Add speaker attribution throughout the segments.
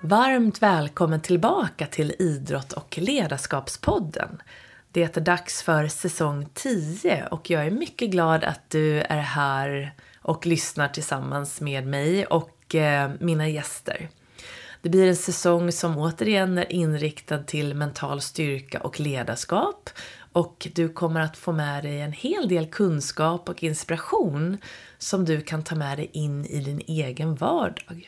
Speaker 1: Varmt välkommen tillbaka till Idrott- och ledarskapspodden. Det är dags för säsong 10 och jag är mycket glad att du är här och lyssnar tillsammans med mig och mina gäster. Det blir en säsong som återigen är inriktad till mental styrka och ledarskap. Och du kommer att få med dig en hel del kunskap och inspiration som du kan ta med dig in i din egen vardag.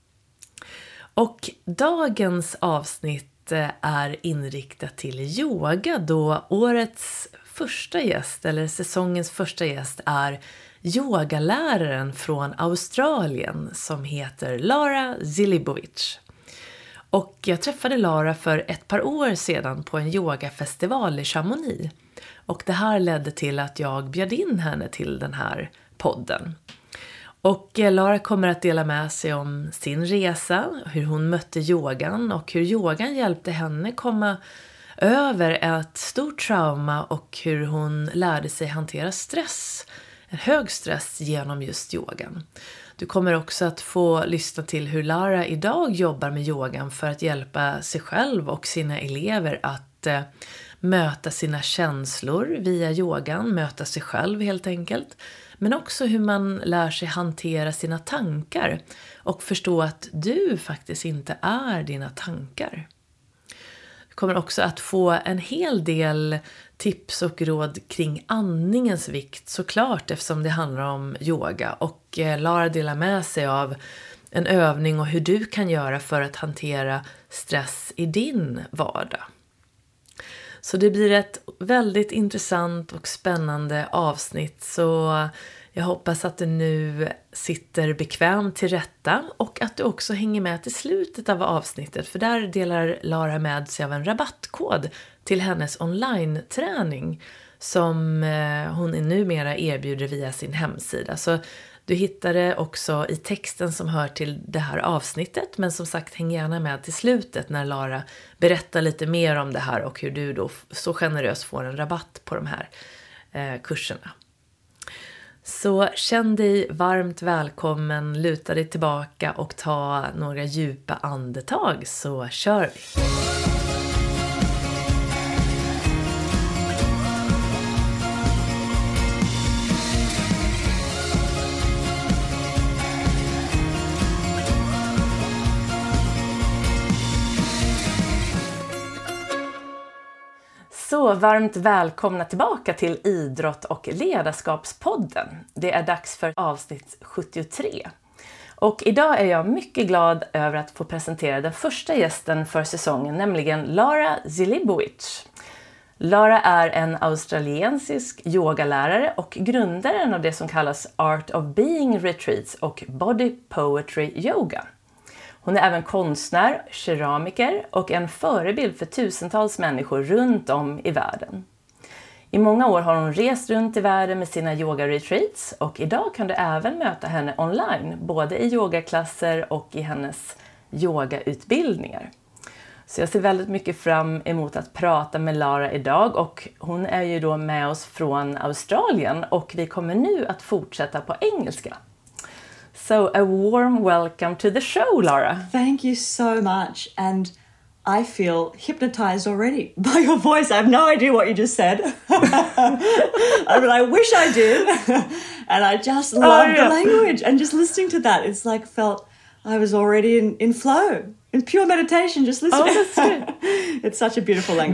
Speaker 1: Och dagens avsnitt är inriktat till yoga då årets första gäst eller säsongens första gäst är yogaläraren från Australien som heter Lara Zilibovic. Och jag träffade Lara för ett par år sedan på en yogafestival i Chamonix. Och det här ledde till att jag bjöd in henne till den här podden. Och Lara kommer att dela med sig om sin resa, hur hon mötte yogan och hur yogan hjälpte henne komma över ett stort trauma och hur hon lärde sig hantera stress, en hög stress genom just yogan. Du kommer också att få lyssna till hur Lara idag jobbar med yogan för att hjälpa sig själv och sina elever att möta sina känslor via yogan, möta sig själv helt enkelt. Men också hur man lär sig hantera sina tankar och förstå att du faktiskt inte är dina tankar. Du kommer också att få en hel del tips och råd kring andningens vikt såklart eftersom det handlar om yoga. Och Lara delar med sig av en övning och hur du kan göra för att hantera stress i din vardag. Så det blir ett väldigt intressant och spännande avsnitt så jag hoppas att du nu sitter bekvämt till rätta och att du också hänger med till slutet av avsnittet för där delar Lara med sig av en rabattkod till hennes online-träning som hon numera erbjuder via sin hemsida. Så du hittar det också i texten som hör till det här avsnittet men som sagt häng gärna med till slutet när Lara berättar lite mer om det här och hur du då så generöst får en rabatt på de här kurserna. Så känn dig varmt välkommen, luta dig tillbaka och ta några djupa andetag så kör vi! Så varmt välkomna tillbaka till Idrott- och ledarskapspodden. Det är dags för avsnitt 73. Och idag är jag mycket glad över att få presentera den första gästen för säsongen, nämligen Lara Zilibovic. Lara är en australiensisk yogalärare och grundaren av det som kallas Art of Being Retreats och Body Poetry Yoga. Hon är även konstnär, keramiker och en förebild för tusentals människor runt om i världen. I många år har hon rest runt i världen med sina yoga-retreats och idag kan du även möta henne online, både i yogaklasser och i hennes yogautbildningar. Så jag ser väldigt mycket fram emot att prata med Lara idag och hon är ju då med oss från Australien och vi kommer nu att fortsätta på engelska. So a warm welcome to the show, Lara.
Speaker 2: Thank you so much. And I feel hypnotized already by your voice. I have no idea what you just said. But I wish I did. And I just love the language. And just listening to that, it's like felt I was already in flow, in pure meditation, just listening.
Speaker 1: Oh, that's good.
Speaker 2: It's such a beautiful language.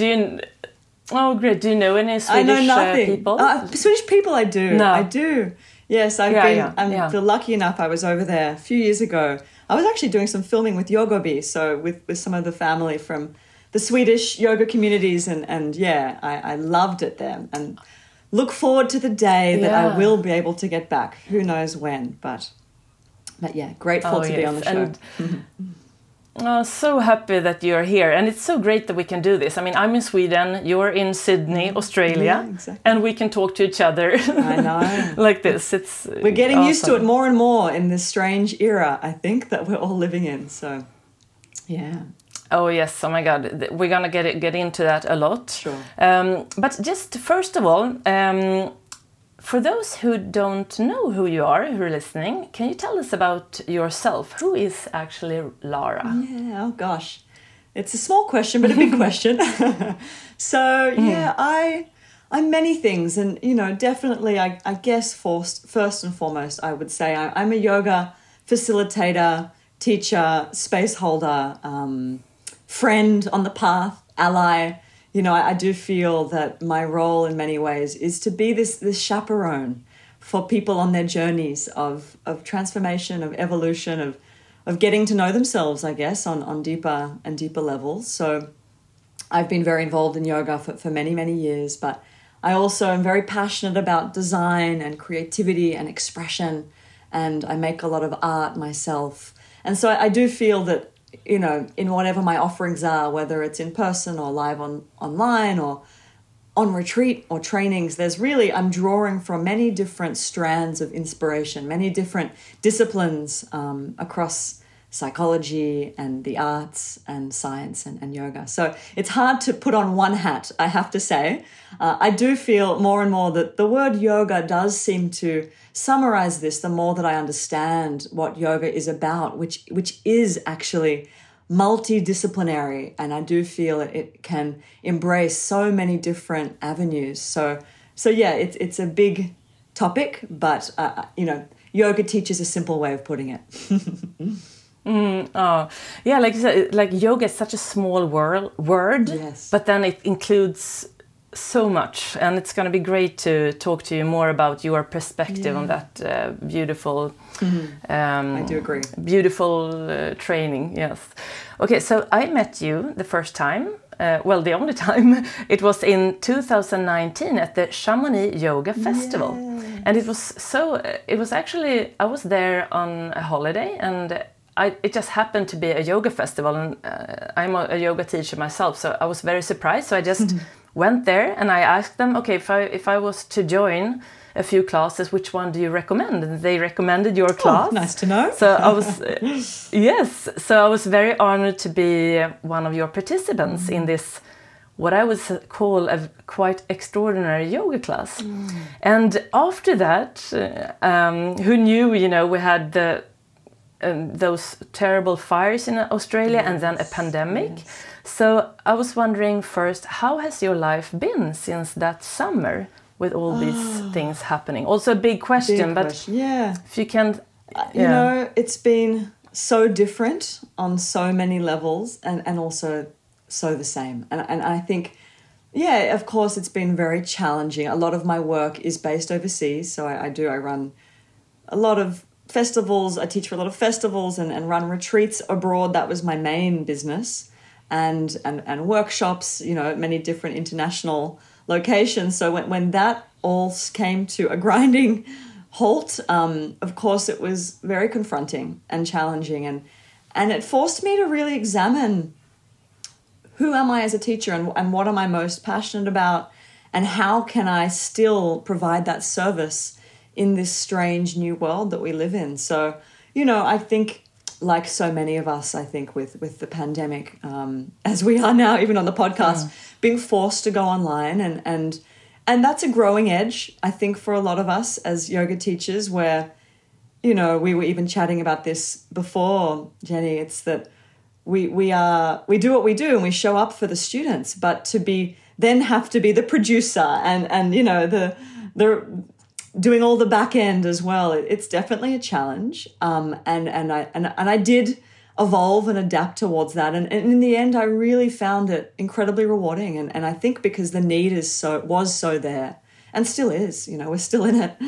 Speaker 1: Oh, great. Do you know any Swedish
Speaker 2: I know nothing.
Speaker 1: People?
Speaker 2: Swedish people I do.
Speaker 1: No.
Speaker 2: I do. Yes, I feel lucky enough. I was over there a few years ago. I was actually doing some filming with Yogobi, so with some of the family from the Swedish yoga communities, and yeah, I loved it there, and look forward to the day that I will be able to get back. Who knows when, but yeah, grateful to be on the show.
Speaker 1: Oh, so happy that you're here, and it's so great that we can do this. I mean, I'm in Sweden, you're in Sydney, Australia,
Speaker 2: exactly.
Speaker 1: And we can talk to each other.
Speaker 2: I know.
Speaker 1: Like this.
Speaker 2: We're getting used to it more and more in this strange era, I think, that we're all living in. So, yeah.
Speaker 1: Oh yes, oh my God, we're gonna get into that a lot.
Speaker 2: Sure.
Speaker 1: But just first of all, for those who don't know who you are, who are listening, can you tell us about yourself? Who is actually Lara?
Speaker 2: Yeah, oh gosh. It's a small question, but a big question. So, yeah, I'm many things. And, you know, definitely, I guess first and foremost, I would say I'm a yoga facilitator, teacher, space holder, friend on the path, ally. You know, I do feel that my role in many ways is to be this chaperone for people on their journeys of transformation, of evolution, of getting to know themselves, I guess, on deeper and deeper levels. So I've been very involved in yoga for many, many years, but I also am very passionate about design and creativity and expression, and I make a lot of art myself. And so I do feel that, you know, in whatever my offerings are, whether it's in person or live online or on retreat or trainings, I'm drawing from many different strands of inspiration, many different disciplines across psychology and the arts and science and yoga. So it's hard to put on one hat, I have to say. I do feel more and more that the word yoga does seem to summarize this the more that I understand what yoga is about, which is actually multidisciplinary, and I do feel it can embrace so many different avenues. So yeah, it's a big topic, but you know, yoga teaches a simple way of putting it.
Speaker 1: Yeah, like you said, like yoga is such a small word,
Speaker 2: yes,
Speaker 1: but then it includes so much, and it's going to be great to talk to you more about your perspective on that beautiful.
Speaker 2: I do agree.
Speaker 1: Beautiful training. Yes. Okay, so I met you the first time. Well, the only time, it was in 2019 at the Chamonix Yoga Festival, and it was so. It was actually, I was there on a holiday, and it just happened to be a yoga festival, and I'm a yoga teacher myself, so I was very surprised. So I just went there and I asked them, okay, if I was to join a few classes, which one do you recommend? And they recommended your class.
Speaker 2: Oh, nice to know.
Speaker 1: So I was, yes, so I was very honored to be one of your participants in this, what I would call a quite extraordinary yoga class. And after that, who knew, you know, we had those terrible fires in Australia and then a pandemic. So I was wondering first, how has your life been since that summer with all these things happening? Also a big question, but
Speaker 2: yeah,
Speaker 1: if you can...
Speaker 2: You know, it's been so different on so many levels and also so the same. And I think, yeah, of course, it's been very challenging. A lot of my work is based overseas. So I run a lot of festivals. I teach for a lot of festivals and run retreats abroad. That was my main business. And workshops, you know, at many different international locations. So when that all came to a grinding halt, of course, it was very confronting and challenging. And it forced me to really examine who am I as a teacher and what am I most passionate about and how can I still provide that service in this strange new world that we live in. So, you know, I think, like so many of us, I think, with the pandemic, as we are now, even on the podcast, being forced to go online. And that's a growing edge, I think, for a lot of us as yoga teachers where, you know, we were even chatting about this before, Jenny. It's that we do what we do and we show up for the students, but then have to be the producer and you know, the doing all the back end as well. It's definitely a challenge. And I did evolve and adapt towards that. And in the end, I really found it incredibly rewarding. And I think because the need was so there and still is, you know, we're still in it,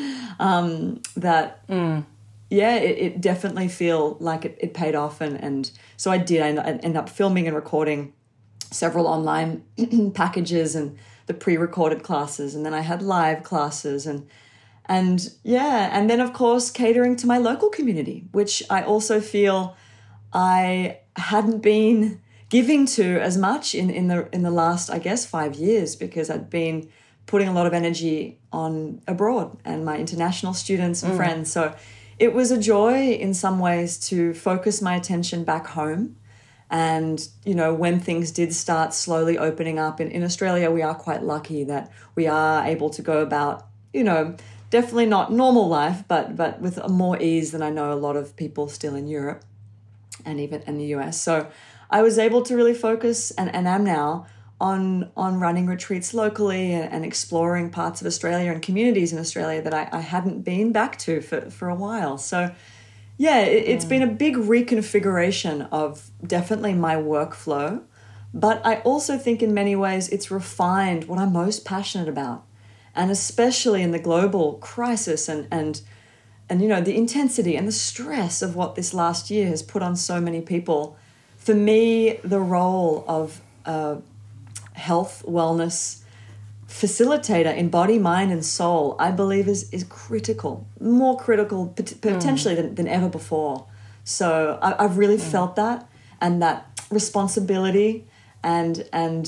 Speaker 2: it definitely feel like it paid off. And so I did end up filming and recording several online packages and the pre-recorded classes. And then I had live classes and then of course catering to my local community, which I also feel I hadn't been giving to as much in the last, I guess, 5 years, because I'd been putting a lot of energy on abroad and my international students and friends. So it was a joy in some ways to focus my attention back home. And, you know, when things did start slowly opening up in Australia, we are quite lucky that we are able to go about, you know, definitely not normal life, but with more ease than I know a lot of people still in Europe and even in the US. So I was able to really focus, and am now, on running retreats locally and exploring parts of Australia and communities in Australia that I hadn't been back to for a while. So yeah, it's been a big reconfiguration of definitely my workflow, but I also think in many ways it's refined what I'm most passionate about. And especially in the global crisis and you know, the intensity and the stress of what this last year has put on so many people, for me, the role of health, wellness facilitator in body, mind, and soul, I believe is critical, more critical potentially than ever before. So I've really felt that, and that responsibility and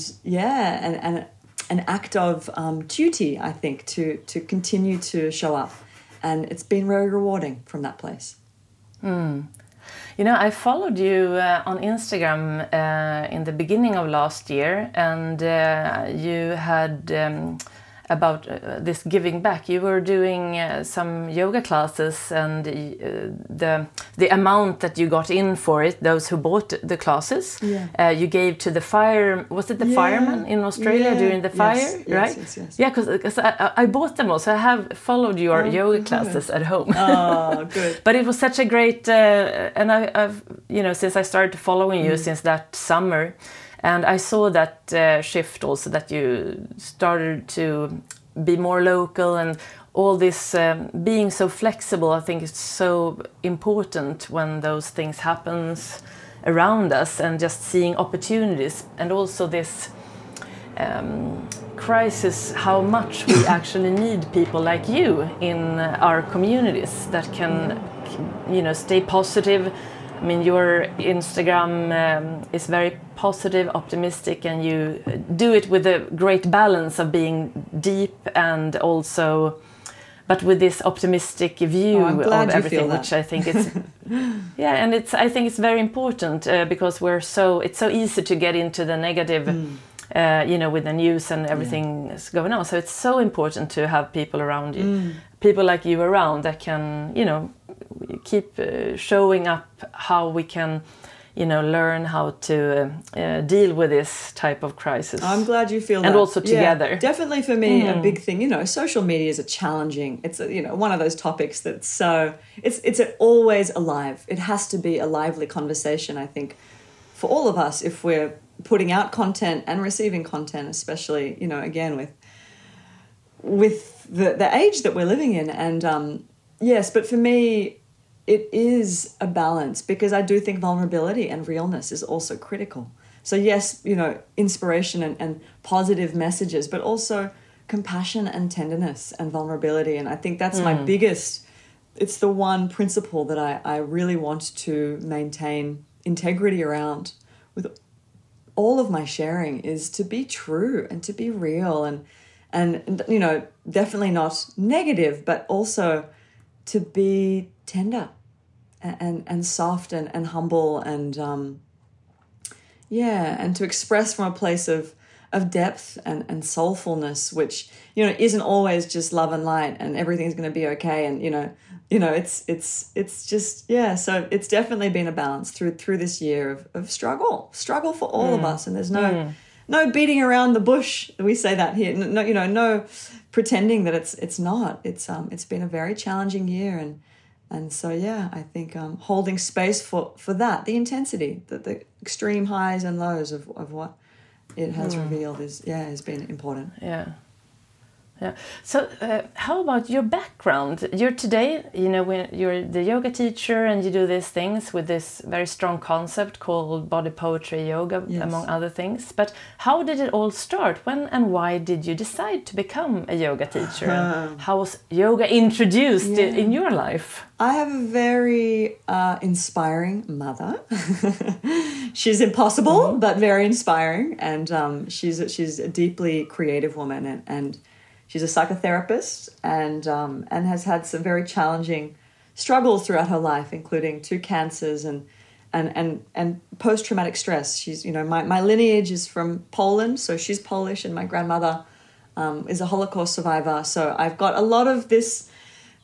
Speaker 2: an act of duty, I think, to continue to show up. And it's been very rewarding from that place.
Speaker 1: You know, I followed you on Instagram in the beginning of last year, and you had about this giving back. You were doing some yoga classes, and the amount that you got in for it, those who bought the classes, you gave to the fire. Was it the firemen in Australia during the fire? Right?
Speaker 2: Yes.
Speaker 1: Yeah, because I bought them all, so I have followed your yoga classes at home.
Speaker 2: Oh, good.
Speaker 1: But it was such a great, and I've, you know, since I started following you since that summer. And I saw that shift also, that you started to be more local, and all this being so flexible. I think it's so important when those things happens around us, and just seeing opportunities, and also this crisis, how much we actually need people like you in our communities that can, you know, stay positive. I mean, your Instagram is very positive, optimistic, and you do it with a great balance of being deep and also, but with this optimistic view of everything, which I think is, and I think it's very important because it's so easy to get into the negative, you know, with the news and everything is going on. So it's so important to have people around you, people like you around that can, you know, keep showing up how we can, you know, learn how to deal with this type of crisis.
Speaker 2: I'm glad you feel that.
Speaker 1: And also together.
Speaker 2: Yeah, definitely for me, a big thing, you know, social media is it's you know, one of those topics that's so, it's always alive. It has to be a lively conversation, I think, for all of us, if we're putting out content and receiving content, especially, you know, again, with the age that we're living in. And yes, but for me, it is a balance, because I do think vulnerability and realness is also critical. So yes, you know, inspiration and positive messages, but also compassion and tenderness and vulnerability. And I think that's my biggest, it's the one principle that I really want to maintain integrity around with all of my sharing, is to be true and to be real and you know, definitely not negative, but also to be tender and soft and humble and and to express from a place of depth and soulfulness, which, you know, isn't always just love and light and everything's going to be okay. And you know it's just so it's definitely been a balance through this year of struggle for all of us. And there's no beating around the bush. We say that here. No, you know, no pretending that it's not. It's been a very challenging year, and so I think holding space for that, the intensity, the extreme highs and lows of what it has revealed has been important.
Speaker 1: Yeah. So how about your background? You're today, you know, when you're the yoga teacher and you do these things with this very strong concept called body poetry yoga, among other things. But how did it all start? When and why did you decide to become a yoga teacher? And how was yoga introduced in your life?
Speaker 2: I have a very inspiring mother. She's impossible, but very inspiring. And she's a deeply creative woman, and she's a psychotherapist and has had some very challenging struggles throughout her life, including 2 cancers and post-traumatic stress. She's, you know, my lineage is from Poland, so she's Polish, and my grandmother is a Holocaust survivor. So I've got a lot of this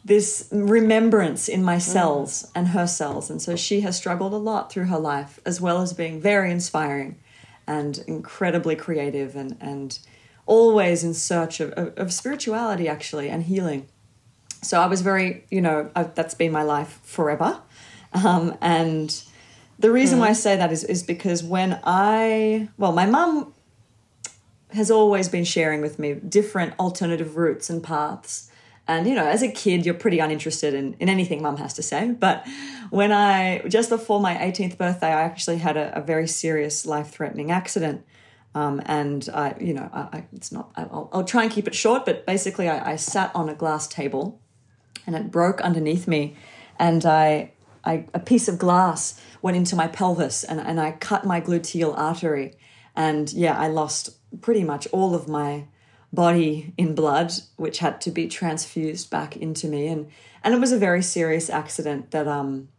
Speaker 2: this remembrance in my cells and her cells. And so she has struggled a lot through her life, as well as being very inspiring and incredibly creative and always in search of spirituality, actually, and healing. So I was very, that's been my life forever. And the reason why I say that is because my mum has always been sharing with me different alternative routes and paths. And, as a kid, you're pretty uninterested in anything mum has to say. But just before my 18th birthday, I actually had a very serious life-threatening accident. And I'll try and keep it short, but basically I sat on a glass table and it broke underneath me. And a piece of glass went into my pelvis and I cut my gluteal artery. And I lost pretty much all of my body in blood, which had to be transfused back into me. And it was a very serious accident that,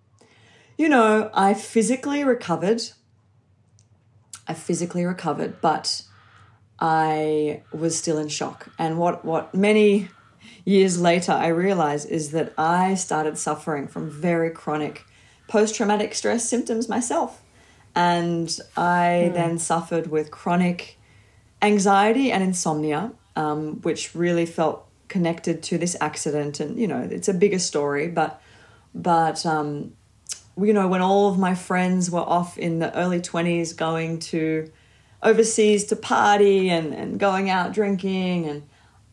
Speaker 2: I physically recovered, but I was still in shock. And what many years later I realized is that I started suffering from very chronic post-traumatic stress symptoms myself. And I then suffered with chronic anxiety and insomnia, which really felt connected to this accident. And, it's a bigger story, but when all of my friends were off in the early 20s going to overseas to party and going out drinking, and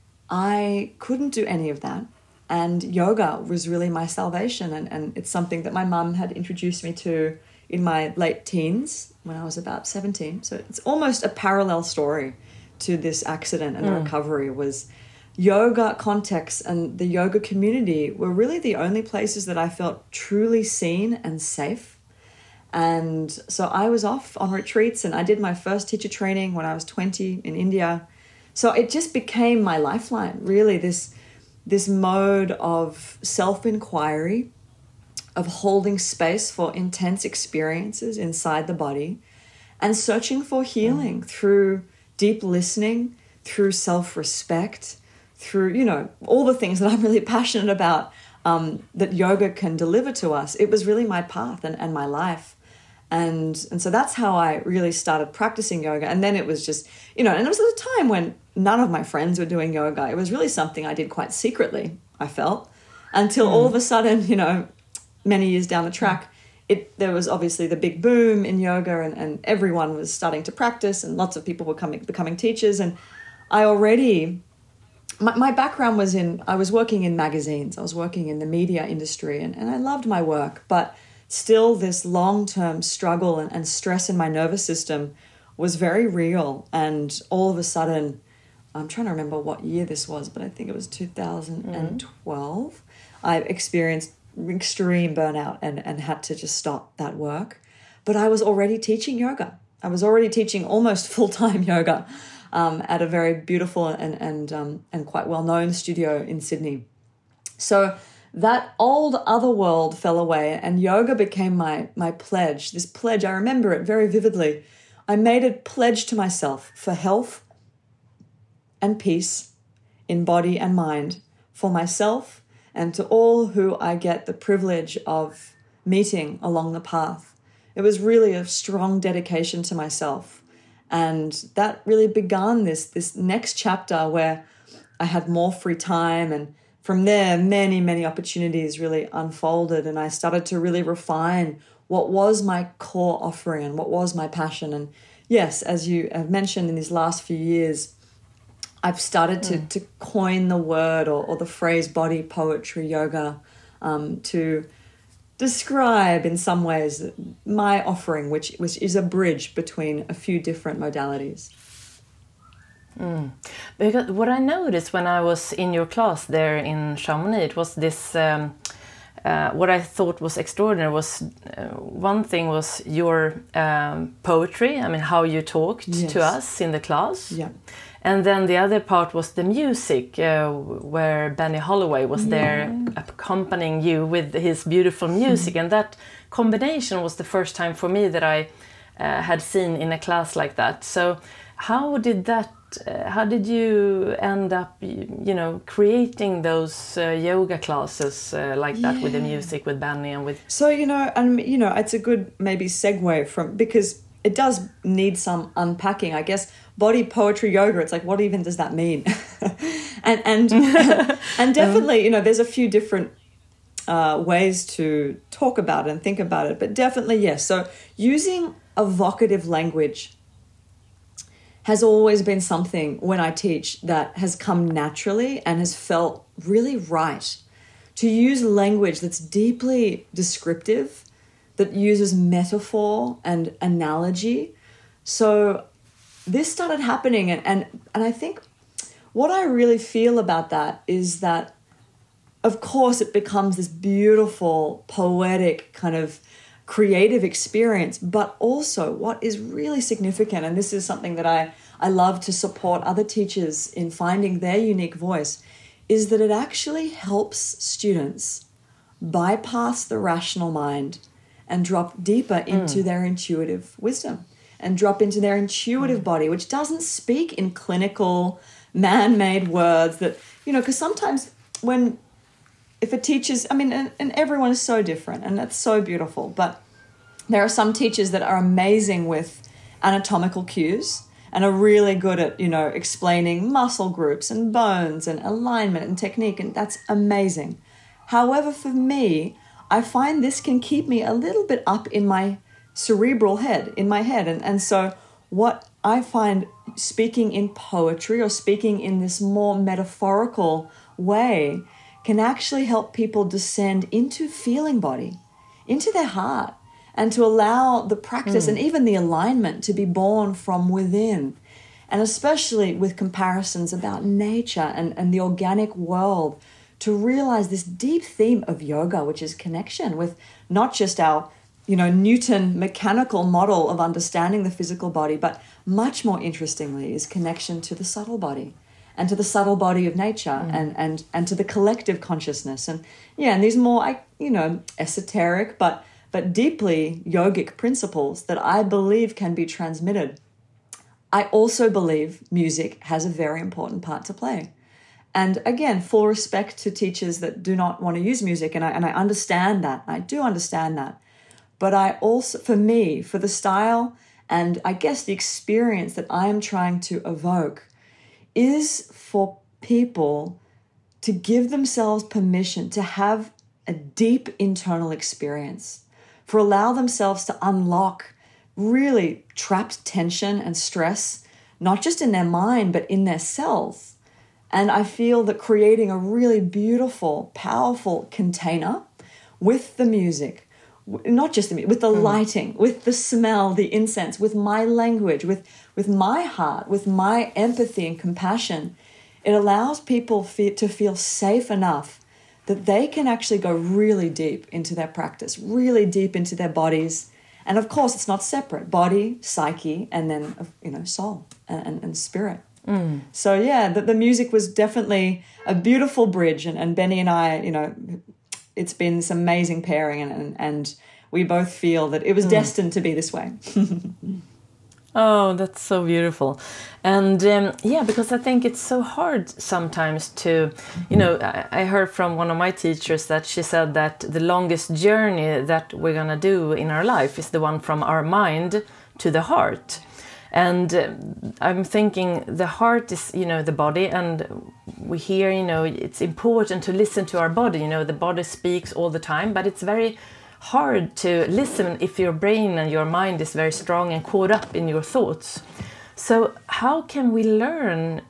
Speaker 2: I couldn't do any of that. And yoga was really my salvation. And it's something that my mum had introduced me to in my late teens when I was about 17. So it's almost a parallel story to this accident and recovery. Was yoga context and the yoga community were really the only places that I felt truly seen and safe. And so I was off on retreats and I did my first teacher training when I was 20 in India. So it just became my lifeline, really, this mode of self-inquiry, of holding space for intense experiences inside the body and searching for healing through deep listening, through self-respect, through, all the things that I'm really passionate about that yoga can deliver to us. It was really my path and my life. And so that's how I really started practicing yoga. And then it was just, and it was at a time when none of my friends were doing yoga. It was really something I did quite secretly, I felt, until all of a sudden, many years down the track, there was obviously the big boom in yoga and everyone was starting to practice and lots of people were becoming teachers. And I already, my background was I was working in magazines. I was working in the media industry and I loved my work, but still this long-term struggle and stress in my nervous system was very real. And all of a sudden, I'm trying to remember what year this was, but I think it was 2012, I experienced extreme burnout and had to just stop that work. But I was already teaching yoga. I was already teaching almost full-time yoga at a very beautiful and quite well-known studio in Sydney. So that old other world fell away and yoga became my pledge. This pledge, I remember it very vividly. I made a pledge to myself for health and peace in body and mind for myself and to all who I get the privilege of meeting along the path. It was really a strong dedication to myself. And that really began this next chapter where I had more free time. And from there, many, many opportunities really unfolded. And I started to really refine what was my core offering and what was my passion. And yes, as you have mentioned in these last few years, I've started to coin the word or the phrase body poetry yoga to describe in some ways my offering, which is a bridge between a few different modalities.
Speaker 1: Because what I noticed when I was in your class there in Chamonix, it was this, what I thought was extraordinary was one thing was your poetry, I mean how you talked to us in the class. Yeah. And then the other part was the music, where Benny Holloway was there accompanying you with his beautiful music. And that combination was the first time for me that I had seen in a class like that. So how did that? How did you end up, creating those yoga classes like that with the music, with Benny and with?
Speaker 2: So it's a good maybe segue from, because it does need some unpacking, I guess. Body poetry yoga. It's like, what even does that mean? and definitely, there's a few different ways to talk about it and think about it, but definitely yes. So using evocative language has always been something when I teach that has come naturally and has felt really right. To use language that's deeply descriptive, that uses metaphor and analogy. So this started happening, and I think what I really feel about that is that, of course, it becomes this beautiful, poetic kind of creative experience, but also what is really significant, and this is something that I love to support other teachers in finding their unique voice, is that it actually helps students bypass the rational mind and drop deeper into their intuitive wisdom and drop into their intuitive body, which doesn't speak in clinical, man-made words that, because sometimes if a teacher's, and everyone is so different, and that's so beautiful, but there are some teachers that are amazing with anatomical cues and are really good at, explaining muscle groups and bones and alignment and technique, and that's amazing. However, for me, I find this can keep me a little bit up in my cerebral head, and so what I find speaking in poetry or speaking in this more metaphorical way can actually help people descend into feeling body, into their heart, and to allow the practice and even the alignment to be born from within. And especially with comparisons about nature and the organic world, to realize this deep theme of yoga, which is connection with not just our, Newton mechanical model of understanding the physical body, but much more interestingly is connection to the subtle body. And to the subtle body of nature and to the collective consciousness. And these more, esoteric but deeply yogic principles that I believe can be transmitted. I also believe music has a very important part to play. And again, full respect to teachers that do not want to use music, and I understand that. I do understand that. But I also, for me, for the style and I guess the experience that I am trying to evoke, is for people to give themselves permission to have a deep internal experience, for allow themselves to unlock really trapped tension and stress, not just in their mind, but in their cells. And I feel that creating a really beautiful, powerful container with the music, not just the music, with the lighting, with the smell, the incense, with my language, with my heart, with my empathy and compassion, it allows people to feel safe enough that they can actually go really deep into their practice, really deep into their bodies. And of course, it's not separate. Body, psyche, and then, soul and spirit. So, the music was definitely a beautiful bridge. And Benny and I, it's been this amazing pairing. And we both feel that it was destined to be this way.
Speaker 1: Oh, that's so beautiful. And because I think it's so hard sometimes to, I heard from one of my teachers that she said that the longest journey that we're going to do in our life is the one from our mind to the heart. And I'm thinking the heart is, the body, and we hear, it's important to listen to our body. The body speaks all the time, but it's very hard to listen if your brain and your mind is very strong and caught up in your thoughts. So how can we learn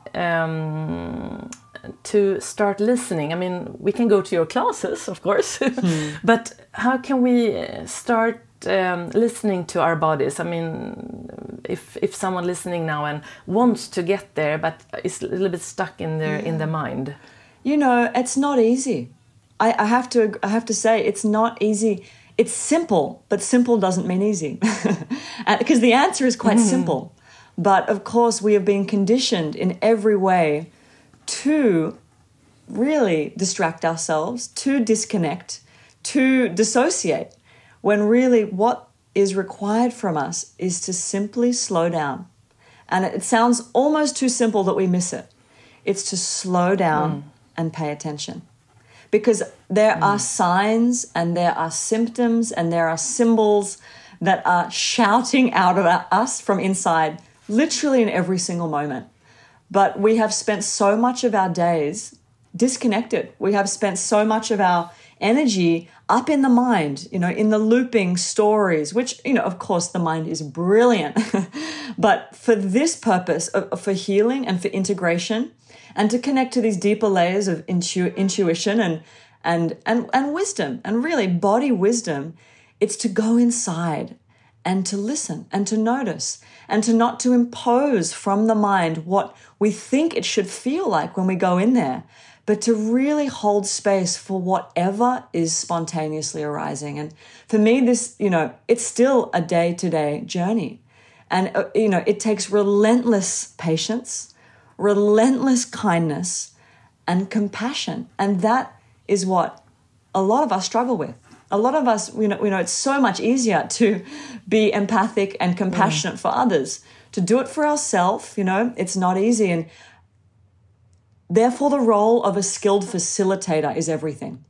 Speaker 1: to start listening? I mean, we can go to your classes, of course, but how can we start listening to our bodies? I mean, if someone listening now and wants to get there, but is a little bit stuck in their mind.
Speaker 2: It's not easy. I have to say it's not easy. It's simple, but simple doesn't mean easy. Because the answer is quite simple. But of course, we have been conditioned in every way to really distract ourselves, to disconnect, to dissociate, when really what is required from us is to simply slow down And it sounds almost too simple that we miss it. It's to slow down and pay attention. Because there are signs and there are symptoms and there are symbols that are shouting out at us from inside, literally in every single moment. But we have spent so much of our days disconnected. We have spent so much of our energy up in the mind, in the looping stories, which, of course, the mind is brilliant. But for this purpose, for healing and for integration, and to connect to these deeper layers of intuition and wisdom, and really body wisdom, it's to go inside and to listen and to notice and to not to impose from the mind what we think it should feel like when we go in there, but to really hold space for whatever is spontaneously arising. And for me, this, it's still a day-to-day journey. And, it takes relentless patience, relentless kindness, and compassion. And that is what a lot of us struggle with. A lot of us, it's so much easier to be empathic and compassionate for others. To do it for ourselves, it's not easy. And therefore, the role of a skilled facilitator is everything.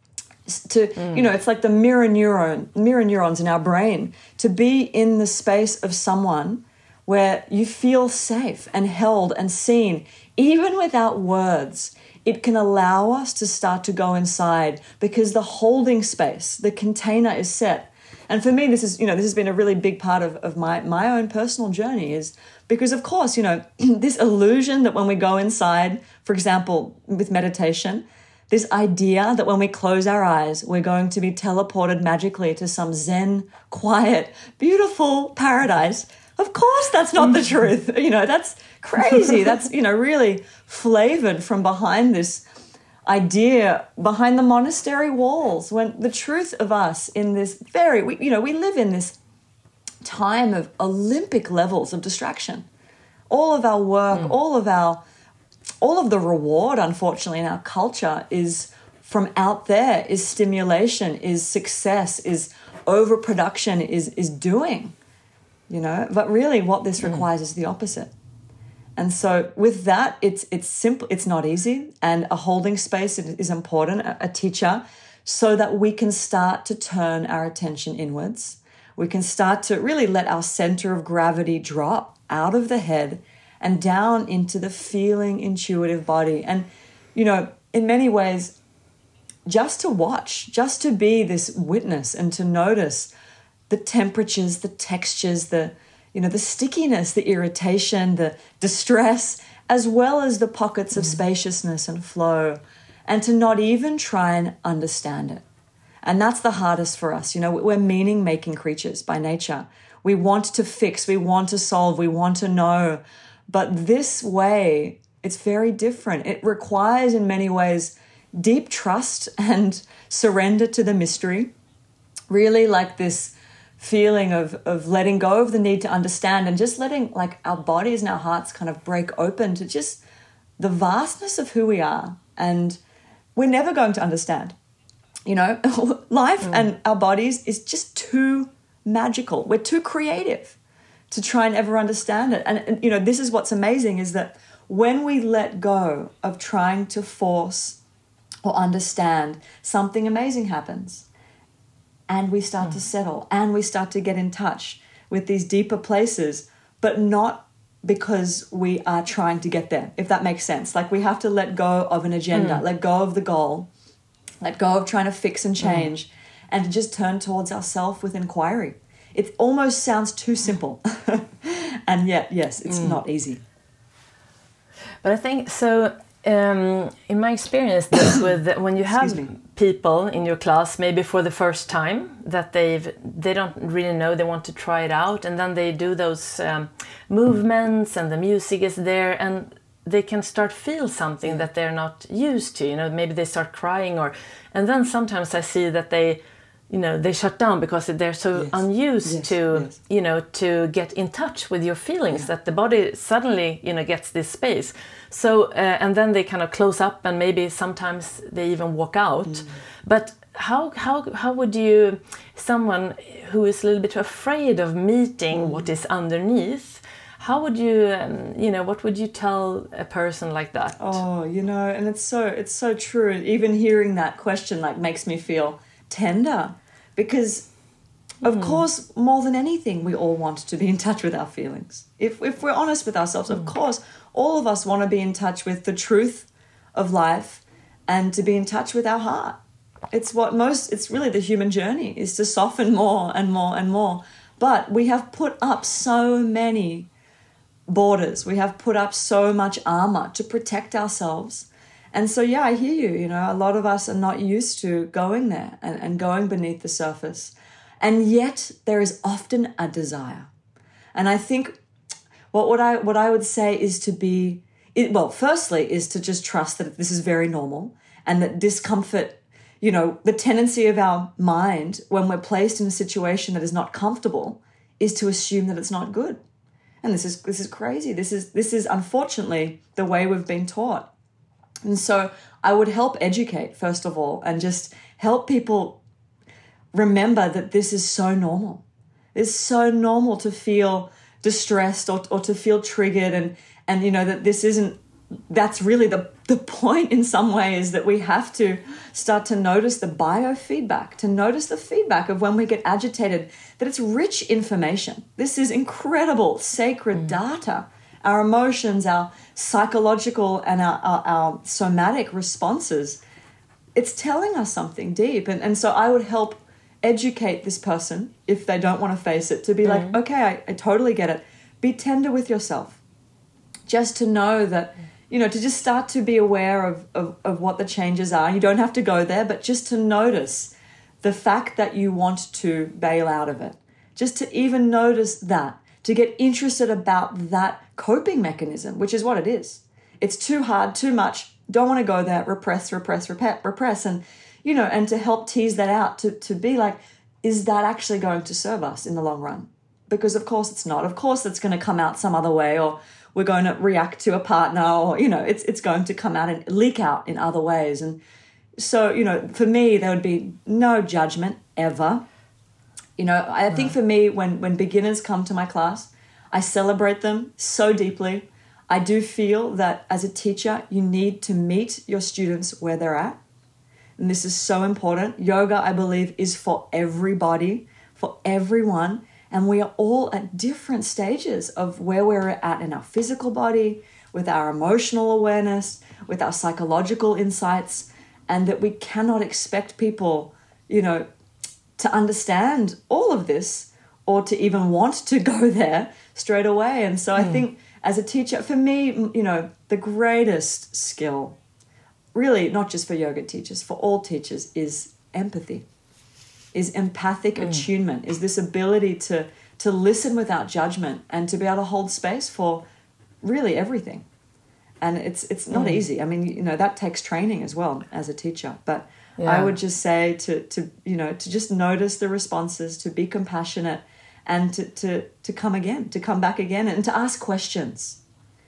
Speaker 2: It's like the mirror neurons in our brain. To be in the space of someone where you feel safe and held and seen, even without words, it can allow us to start to go inside because the holding space, the container is set. And for me, this has been a really big part of my own personal journey, is because, of course, this illusion that when we go inside, for example, with meditation, this idea that when we close our eyes, we're going to be teleported magically to some Zen, quiet, beautiful paradise. Of course, that's not the truth. That's crazy. That's, really flavored from behind this idea, behind the monastery walls, when the truth of us in this we live in this time of Olympic levels of distraction. All of our work, all of the reward, unfortunately, in our culture is from out there, is stimulation, is success, is overproduction, is doing. But really what this requires is the opposite. And so with that, it's simple, it's not easy, and a holding space is important, a teacher, so that we can start to turn our attention inwards. We can start to really let our center of gravity drop out of the head and down into the feeling, intuitive body. And, in many ways, just to watch, just to be this witness and to notice the temperatures, the textures, the stickiness, the irritation, the distress, as well as the pockets of spaciousness and flow, and to not even try and understand it. And that's the hardest for us. We're meaning-making creatures by nature. We want to fix, we want to solve, we want to know. But this way, it's very different. It requires, in many ways, deep trust and surrender to the mystery. Really like this feeling of letting go of the need to understand and just letting our bodies and our hearts kind of break open to just the vastness of who we are. And we're never going to understand. Life and our bodies is just too magical. We're too creative to try and ever understand it. And this is what's amazing, is that when we let go of trying to force or understand, something amazing happens. And we start to settle, and we start to get in touch with these deeper places, but not because we are trying to get there, if that makes sense. We have to let go of an agenda, let go of the goal, let go of trying to fix and change, and to just turn towards ourselves with inquiry. It almost sounds too simple. And yet, yes, it's not easy.
Speaker 1: But I think so. In my experience, this with when you have people in your class, maybe for the first time, that they don't really know, they want to try it out, and then they do those movements, and the music is there, and they can start feel something that they're not used to. Maybe they start crying, and then sometimes I see that they shut down because they're so unused to get in touch with your feelings, that the body suddenly, gets this space. So, and then they kind of close up, and maybe sometimes they even walk out. But how would someone who is a little bit afraid of meeting what is underneath, How would you, what would you tell a person like that?
Speaker 2: Oh, and it's so true. Even hearing that question like makes me feel tender, because of course, more than anything, we all want to be in touch with our feelings. If we're honest with ourselves, of course, all of us want to be in touch with the truth of life and to be in touch with our heart. It's really the human journey, is to soften more and more and more. But we have put up so many borders. We have put up so much armor to protect ourselves. And so, yeah, I hear you. A lot of us are not used to going there and going beneath the surface. And yet there is often a desire. And I think what I would say is firstly is to just trust that this is very normal, and that discomfort, the tendency of our mind when we're placed in a situation that is not comfortable is to assume that it's not good. And this is crazy. This is unfortunately the way we've been taught. And so I would help educate, first of all, and just help people remember that this is so normal. It's so normal to feel distressed or to feel triggered, and that that's really the point in some ways, that we have to start to notice the biofeedback, to notice the feedback of when we get agitated, that it's rich information. This is incredible, sacred data. Our emotions, our psychological and our somatic responses, it's telling us something deep. And so I would help educate this person, if they don't want to face it, to be like, okay, I totally get it. Be tender with yourself. Just to know that, to just start to be aware of what the changes are. You don't have to go there, but just to notice the fact that you want to bail out of it. Just to even notice that, to get interested about that coping mechanism, which is what it is. It's too hard, too much, don't want to go there, repress. And to help tease that out, to be like, is that actually going to serve us in the long run? Because of course it's not. Of course it's going to come out some other way, or we're going to react to a partner, or, it's going to come out and leak out in other ways. And so, for me, there would be no judgment ever. I think for me, when beginners come to my class, I celebrate them so deeply. I do feel that as a teacher, you need to meet your students where they're at. And this is so important. Yoga, I believe, is for everybody, for everyone. And we are all at different stages of where we're at in our physical body, with our emotional awareness, with our psychological insights, and that we cannot expect people, to understand all of this or to even want to go there straight away. And so I think as a teacher, for me, the greatest skill, really not just for yoga teachers, for all teachers, is empathy, is empathic attunement, is this ability to listen without judgment and to be able to hold space for really everything. And it's not easy. I mean, that takes training as well as a teacher. But I would just say to just notice the responses, to be compassionate, and to come again, to come back again, and to ask questions.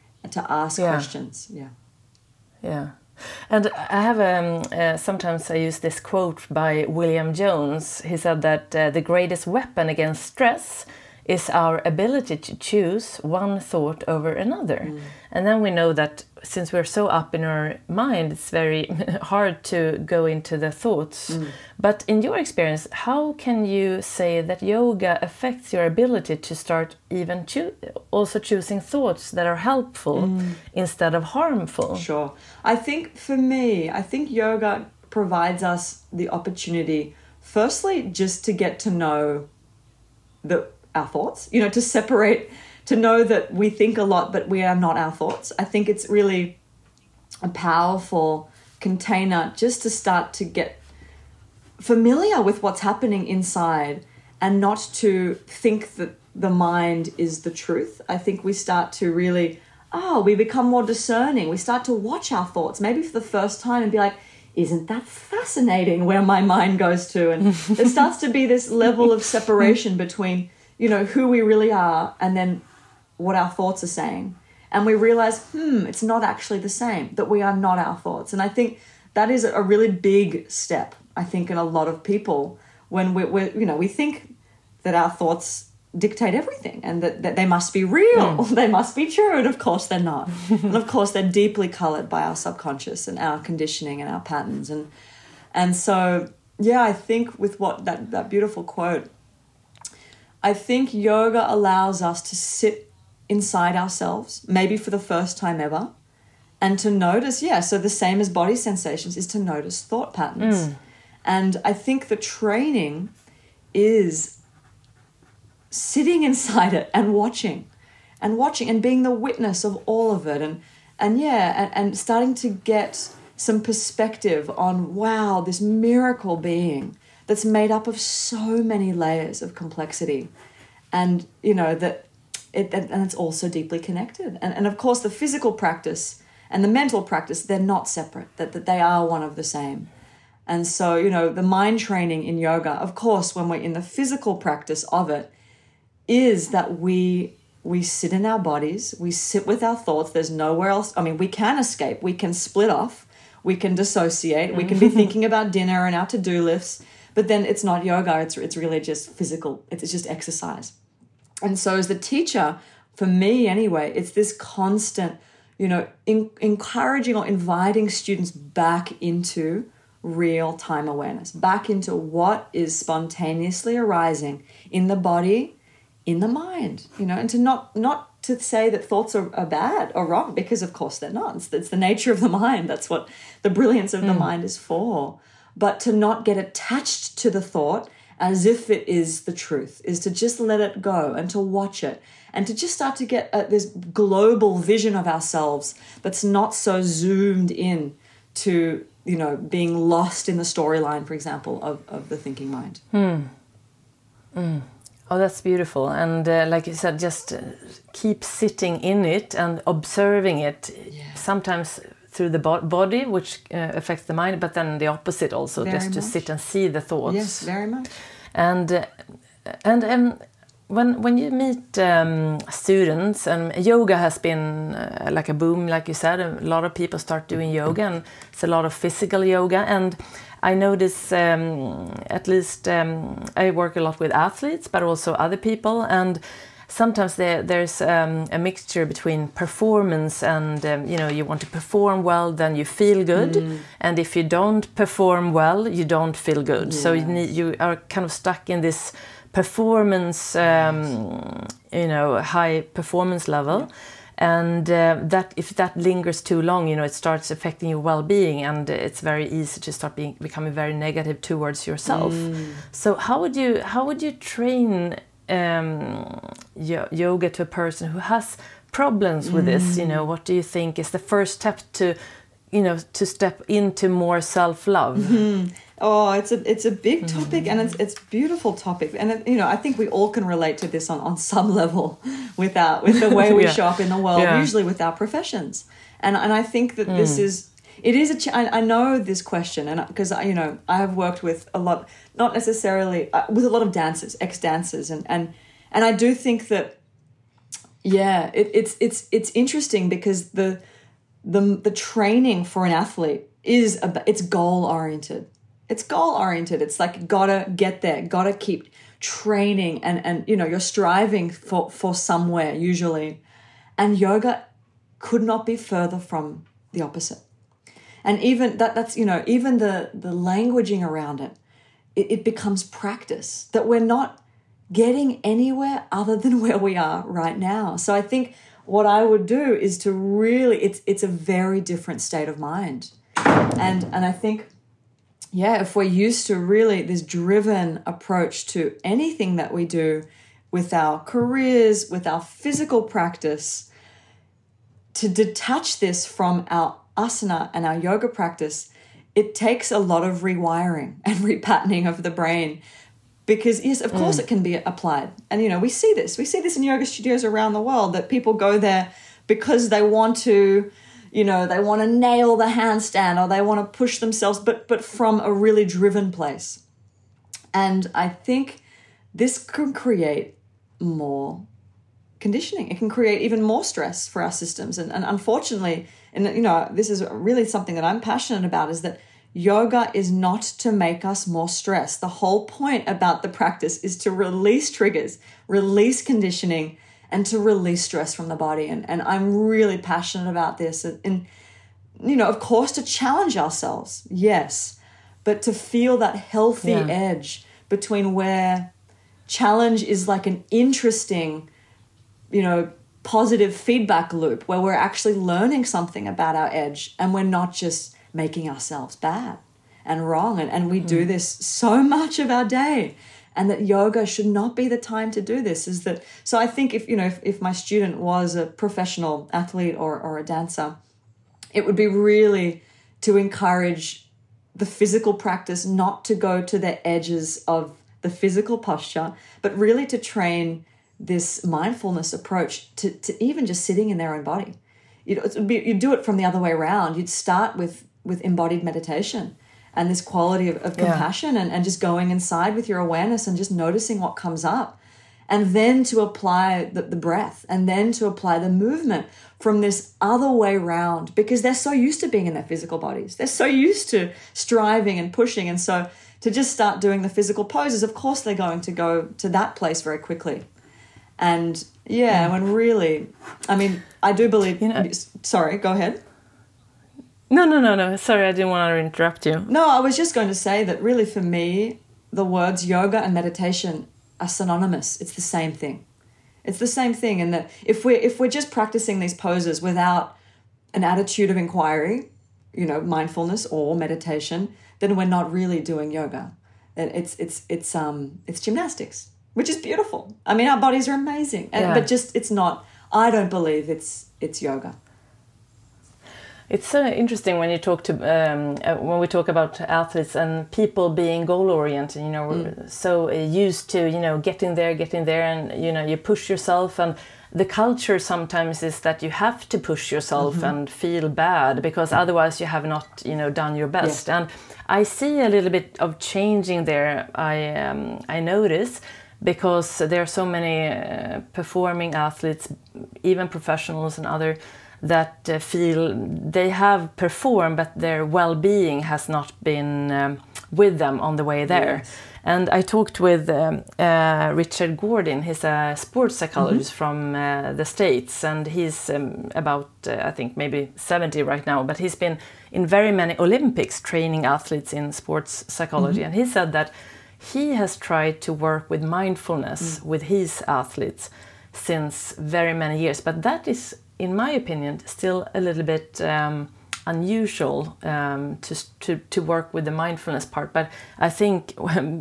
Speaker 1: Yeah. And I have sometimes I use this quote by William Jones. He said that the greatest weapon against stress is our ability to choose one thought over another. And then we know that since we're so up in our mind, it's very hard to go into the thoughts. But in your experience, how can you say that yoga affects your ability to start even also choosing thoughts that are helpful instead of harmful?
Speaker 2: Sure. I think for me, yoga provides us the opportunity, firstly, just to get to know our thoughts, to separate, to know that we think a lot, but we are not our thoughts. I think it's really a powerful container just to start to get familiar with what's happening inside and not to think that the mind is the truth. I think we start to really, we become more discerning. We start to watch our thoughts, maybe for the first time, and be like, isn't that fascinating where my mind goes to? And there starts to be this level of separation between who we really are and then what our thoughts are saying. And we realize, it's not actually the same, that we are not our thoughts. And I think that is a really big step, I think, in a lot of people when we think that our thoughts dictate everything, and that they must be real, they must be true, and of course they're not. And of course they're deeply coloured by our subconscious and our conditioning and our patterns. And so, yeah, I think with what that beautiful quote, I think yoga allows us to sit inside ourselves, maybe for the first time ever, and to notice, so the same as body sensations is to notice thought patterns. And I think the training is sitting inside it and watching and being the witness of all of it and starting to get some perspective on, wow, this miracle being that's made up of so many layers of complexity, and and it's also deeply connected. And of course the physical practice and the mental practice, they're not separate, that they are one of the same. And so, the mind training in yoga, of course, when we're in the physical practice of it, is that we sit in our bodies, we sit with our thoughts. There's nowhere else. I mean, we can escape, we can split off, we can dissociate, we can be thinking about dinner and our to-do lists, but then it's not yoga, it's really just physical, it's just exercise. And so as the teacher, for me anyway, it's this constant, encouraging or inviting students back into real-time awareness, back into what is spontaneously arising in the body, in the mind, and to not to say that thoughts are bad or wrong, because of course they're not. It's the nature of the mind. That's what the brilliance of the mind is for. But to not get attached to the thought as if it is the truth, is to just let it go and to watch it and to just start to get this global vision of ourselves that's not so zoomed in to being lost in the storyline, for example, of the thinking mind.
Speaker 1: Oh, that's beautiful. And like you said, just keep sitting in it and observing it, sometimes through the body, which affects the mind, but then the opposite also, very just much. To sit and see the thoughts.
Speaker 2: Yes, very much.
Speaker 1: And when you meet students, and yoga has been like a boom, like you said, a lot of people start doing yoga, and it's a lot of physical yoga. And I notice, at least I work a lot with athletes, but also other people, and sometimes there's a mixture between performance and, you want to perform well, then you feel good. And if you don't perform well, you don't feel good. So you are kind of stuck in this performance, high performance level. And that if that lingers too long, it starts affecting your well-being, and it's very easy to start becoming very negative towards yourself. So how would you train yoga to a person who has problems with this? What do you think is the first step to step into more self-love?
Speaker 2: Oh, it's a big topic, and it's a beautiful topic, and I think we all can relate to this on some level with the way we show up in the world, usually with our professions, and I think that this is I know this question, and because I have worked with a lot, not necessarily with a lot of dancers, ex-dancers, and I do think that it's interesting because the training for an athlete it's goal oriented. It's goal oriented. It's like gotta get there, gotta keep training, and you're striving for somewhere usually, and yoga could not be further from the opposite. And even that's even the languaging around it becomes practice, that we're not getting anywhere other than where we are right now. So I think what I would do is to really it's a very different state of mind, and I think. Yeah, if we're used to really this driven approach to anything that we do with our careers, with our physical practice, to detach this from our asana and our yoga practice, it takes a lot of rewiring and repatterning of the brain. Because, yes, of course it can be applied. And, we see this in yoga studios around the world, that people go there because they want to... they want to nail the handstand, or they want to push themselves, but from a really driven place. And I think this can create more conditioning. It can create even more stress for our systems. And unfortunately, and this is really something that I'm passionate about, is that, yoga is not to make us more stressed. The whole point about the practice is to release triggers, release conditioning, and to release stress from the body. And I'm really passionate about this. And, you know, of course, to challenge ourselves, yes, but to feel that healthy edge between where challenge is like an interesting, you know, positive feedback loop where we're actually learning something about our edge and we're not just making ourselves bad and wrong. And we do this so much of our day. And that yoga should not be the time to do this. So I think if my student was a professional athlete or a dancer, it would be really to encourage the physical practice not to go to the edges of the physical posture, but really to train this mindfulness approach to even just sitting in their own body. You'd do it from the other way around. You'd start with embodied meditation and this quality of compassion and just going inside with your awareness and just noticing what comes up. And then to apply the breath and then to apply the movement from this other way round, because they're so used to being in their physical bodies. They're so used to striving and pushing. And so to just start doing the physical poses, of course they're going to go to that place very quickly. And when really, I mean, I do believe, sorry, go ahead.
Speaker 1: No. Sorry, I didn't want to interrupt you.
Speaker 2: No, I was just going to say that really for me, the words yoga and meditation are synonymous. It's the same thing. It's the same thing. And that if we're just practicing these poses without an attitude of inquiry, you know, mindfulness or meditation, then we're not really doing yoga. It's gymnastics, which is beautiful. I mean, our bodies are amazing, but just it's not. I don't believe it's yoga.
Speaker 1: It's so interesting when you talk to when we talk about athletes and people being goal oriented. You know, we're so used to getting there, and you push yourself, and the culture sometimes is that you have to push yourself and feel bad because otherwise you have not done your best. And I see a little bit of changing there. I notice. Because there are so many performing athletes, even professionals and other, that feel they have performed, but their well-being has not been with them on the way there. Yes. And I talked with Richard Gordon. He's a sports psychologist from the States, and he's about, I think, maybe 70 right now, but he's been in very many Olympics training athletes in sports psychology. And he said that he has tried to work with mindfulness with his athletes since very many years, but that is, in my opinion, still a little bit unusual to work with the mindfulness part. But I think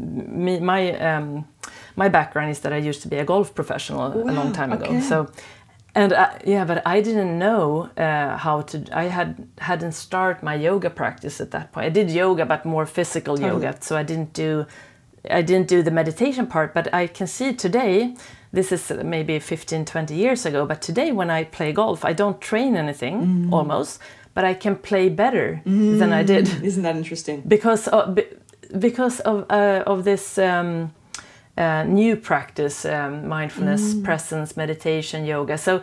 Speaker 1: my background is that I used to be a golf professional a long time ago. So, and but I didn't know how to. I hadn't started my yoga practice at that point. I did yoga, but more physical yoga. So I didn't do the meditation part, but I can see today, this is maybe 15, 20 years ago, but today when I play golf, I don't train anything almost, but I can play better than I did.
Speaker 2: Isn't that interesting?
Speaker 1: Because of this new practice, mindfulness, presence, meditation, yoga. So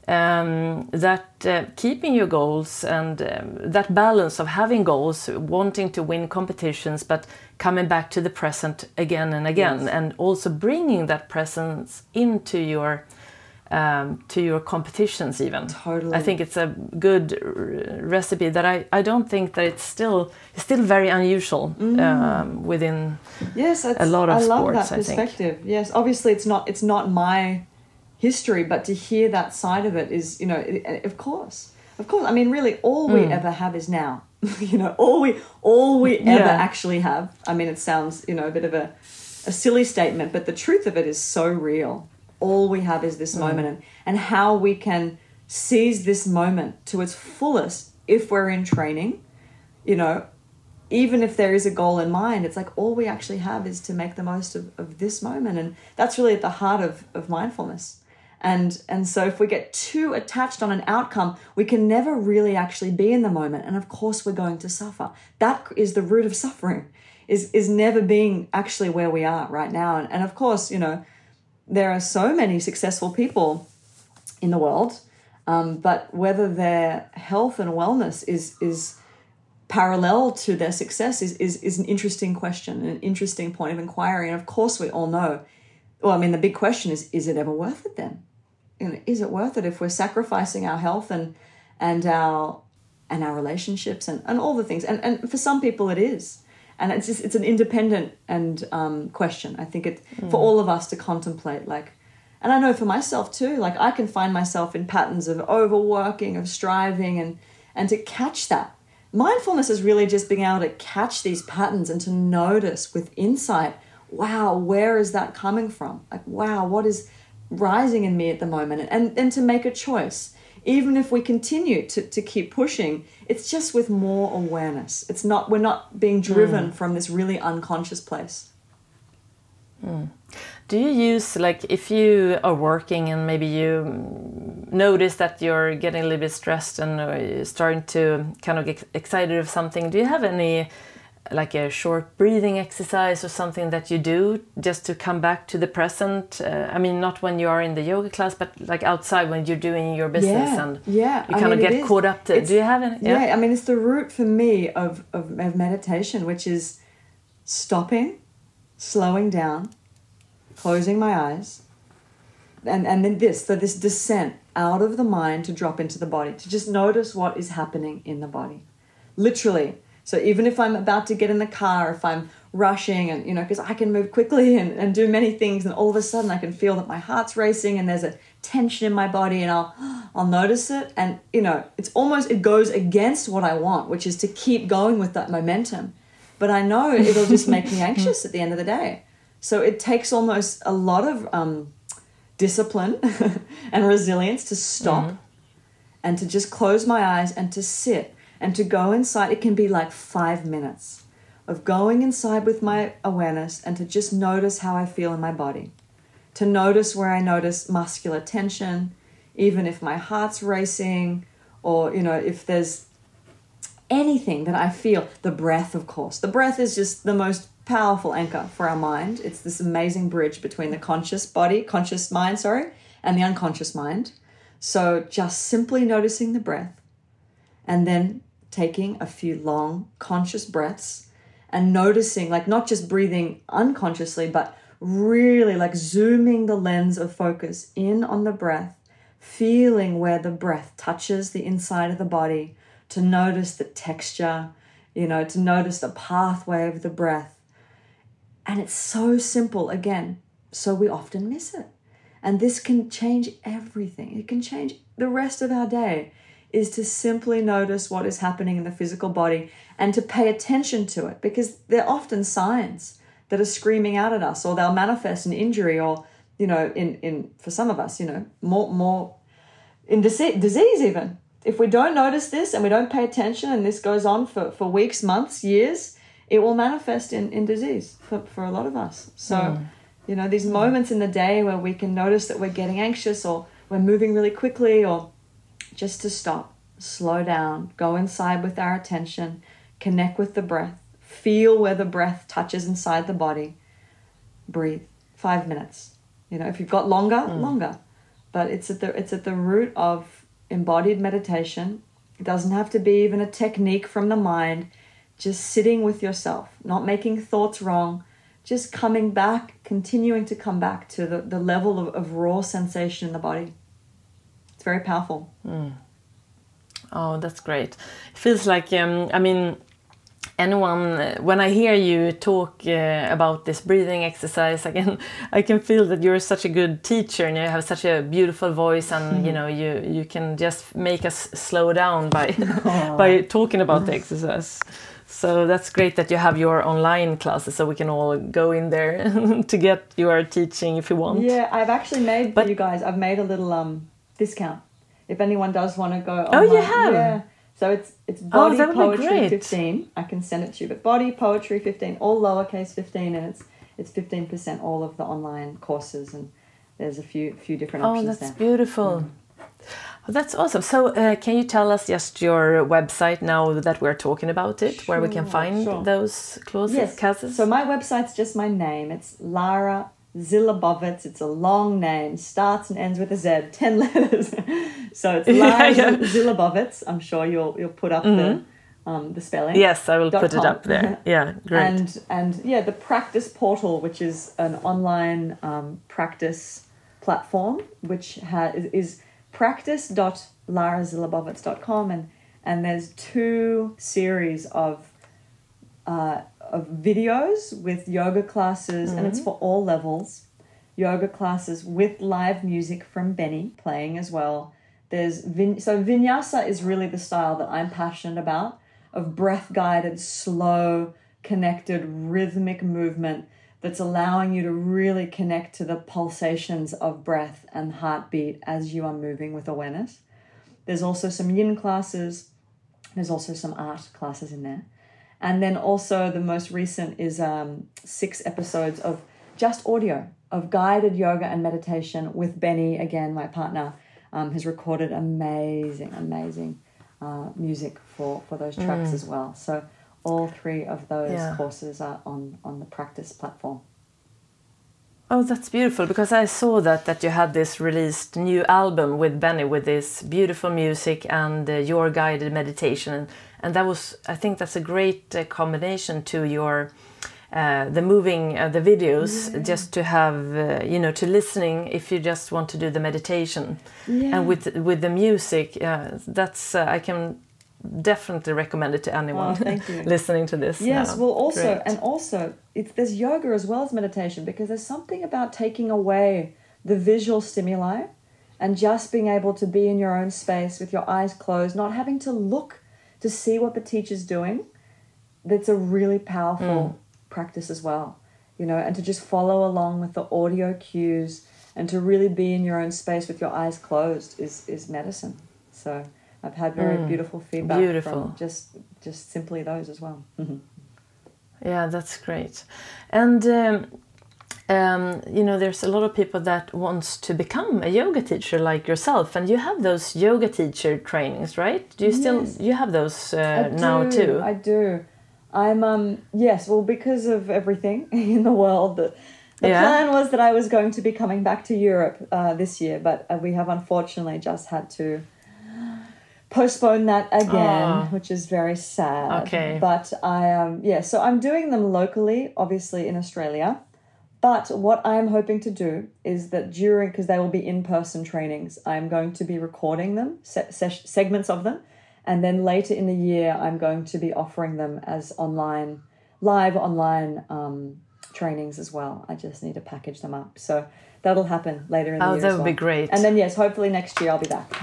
Speaker 1: that keeping your goals and that balance of having goals, wanting to win competitions, but coming back to the present again and again, and also bringing that presence into your competitions even.
Speaker 2: Totally.
Speaker 1: I think it's a good recipe that I don't think that it's still very unusual within a lot of sports. I love that
Speaker 2: perspective. Yes, obviously it's not my history, but to hear that side of it is, of course. I mean, really, all we ever have is now. All we ever actually have. I mean, it sounds, a bit of a silly statement, but the truth of it is so real. All we have is this moment, and how we can seize this moment to its fullest if we're in training, even if there is a goal in mind, it's like all we actually have is to make the most of this moment. And that's really at the heart of mindfulness. And so if we get too attached on an outcome, we can never really actually be in the moment. And of course, we're going to suffer. That is the root of suffering, is never being actually where we are right now. And of course, there are so many successful people in the world, but whether their health and wellness is parallel to their success is an interesting question, an interesting point of inquiry. And of course we all know, well, I mean, the big question is it ever worth it then? You know, is it worth it if we're sacrificing our health and our relationships and all the things? And for some people it is. And it's an independent question. I think for all of us to contemplate, like, and I know for myself too, like I can find myself in patterns of overworking, of striving, and to catch that. Mindfulness is really just being able to catch these patterns and to notice with insight, wow, where is that coming from? Like, wow, what is rising in me at the moment? And to make a choice. Even if we continue to keep pushing, it's just with more awareness. We're not being driven from this really unconscious place.
Speaker 1: Do you use, like, if you are working and maybe you notice that you're getting a little bit stressed and starting to kind of get excited of something, do you have any, like a short breathing exercise or something that you do just to come back to the present? I mean, not when you are in the yoga class, but like outside when you're doing your business and you kind of get caught up to, do you have any?
Speaker 2: Yeah, I mean, it's the root for me of meditation, which is stopping, slowing down, closing my eyes, and then this descent out of the mind to drop into the body, to just notice what is happening in the body. Literally. So even if I'm about to get in the car, if I'm rushing and, you know, because I can move quickly and do many things, and all of a sudden I can feel that my heart's racing and there's a tension in my body, and I'll notice it. And, you know, it goes against what I want, which is to keep going with that momentum. But I know it'll just make me anxious at the end of the day. So it takes almost a lot of discipline and resilience to stop and to just close my eyes and to sit and to go inside. It can be like 5 minutes of going inside with my awareness and to just notice how I feel in my body, to notice where I notice muscular tension, even if my heart's racing, or, you know, if there's anything that I feel. The breath, of course. The breath is just the most powerful anchor for our mind. It's this amazing bridge between the conscious mind, and the unconscious mind. So just simply noticing the breath and then taking a few long conscious breaths and noticing, like, not just breathing unconsciously, but really like zooming the lens of focus in on the breath, feeling where the breath touches the inside of the body, to notice the texture, you know, to notice the pathway of the breath. And it's so simple, again, so we often miss it. And this can change everything. It can change the rest of our day, is to simply notice what is happening in the physical body and to pay attention to it, because they're often signs that are screaming out at us, or they'll manifest in injury, or, you know, in for some of us, you know, more in disease even. If we don't notice this and we don't pay attention, and this goes on for weeks, months, years, it will manifest in disease for a lot of us. So, you know, these moments in the day where we can notice that we're getting anxious, or we're moving really quickly, or just to stop, slow down, go inside with our attention, connect with the breath, feel where the breath touches inside the body, breathe. 5 minutes. You know, if you've got longer. But it's at the root of embodied meditation. It doesn't have to be even a technique from the mind. Just sitting with yourself, not making thoughts wrong, just coming back, continuing to come back to the level of raw sensation in the body. It's very powerful.
Speaker 1: Oh, that's great. It feels like, I mean, anyone, when I hear you talk about this breathing exercise, I can feel that you're such a good teacher, and you have such a beautiful voice, and you know, you can just make us slow down by talking about the exercise. So that's great that you have your online classes, so we can all go in there to get your teaching if you want.
Speaker 2: Yeah, I've actually made, for you guys, I've made a little discount if anyone does want to go online.
Speaker 1: Oh, you have?
Speaker 2: Yeah. So it's Body Poetry 15. I can send it to you. But Body Poetry 15, all lowercase 15, and it's 15% all of the online courses, and there's a few different options there.
Speaker 1: Oh, that's beautiful. Well, that's awesome. So can you tell us just your website now that we're talking about it, where we can find those classes?
Speaker 2: So my website's just my name. It's Lara Zilabovitz. It's a long name, starts and ends with a Z, 10 letters. So it's Lara Zilabovitz. I'm sure you'll put up the spelling.
Speaker 1: Yes, I will put it up there. Yeah, great.
Speaker 2: And yeah, the Practice Portal, which is an online practice platform, which is practice.larazilabovitz.com, and there's 2 series of videos with yoga classes, and it's for all levels. Yoga classes with live music from Benny playing as well. So vinyasa is really the style that I'm passionate about, of breath-guided, slow, connected, rhythmic movement that's allowing you to really connect to the pulsations of breath and heartbeat as you are moving with awareness. There's also some yin classes. There's also some art classes in there. And then also the most recent is 6 episodes of just audio, of guided yoga and meditation with Benny, again, my partner, has recorded amazing music for those tracks as well. So all 3 of those courses are on the Practice platform.
Speaker 1: Oh, that's beautiful, because I saw that you had this released new album with Benny with this beautiful music and your guided meditation, and that was, I think that's a great combination to your the moving the videos, just to have to listening if you just want to do the meditation, and with the music, that's I can definitely recommend it to anyone listening to this.
Speaker 2: Yes, well, also there's yoga as well as meditation, because there's something about taking away the visual stimuli and just being able to be in your own space with your eyes closed, not having to look to see what the teacher's doing. That's a really powerful practice as well, and to just follow along with the audio cues and to really be in your own space with your eyes closed is medicine. So I've had very beautiful feedback from just simply those as well. Mm-hmm.
Speaker 1: Yeah, that's great. And there's a lot of people that wants to become a yoga teacher like yourself, and you have those yoga teacher trainings, right? Do you still you have those now too?
Speaker 2: I do. I'm well, because of everything in the world, the plan was that I was going to be coming back to Europe this year, but we have unfortunately just had to postpone that again, which is very sad.
Speaker 1: Okay.
Speaker 2: But so I'm doing them locally, obviously in Australia. But what I'm hoping to do is that because they will be in-person trainings, I'm going to be recording them, segments of them. And then later in the year, I'm going to be offering them as live online trainings as well. I just need to package them up. So that'll happen later in the year.
Speaker 1: Oh, that would be great.
Speaker 2: And then, yes, hopefully next year I'll be back.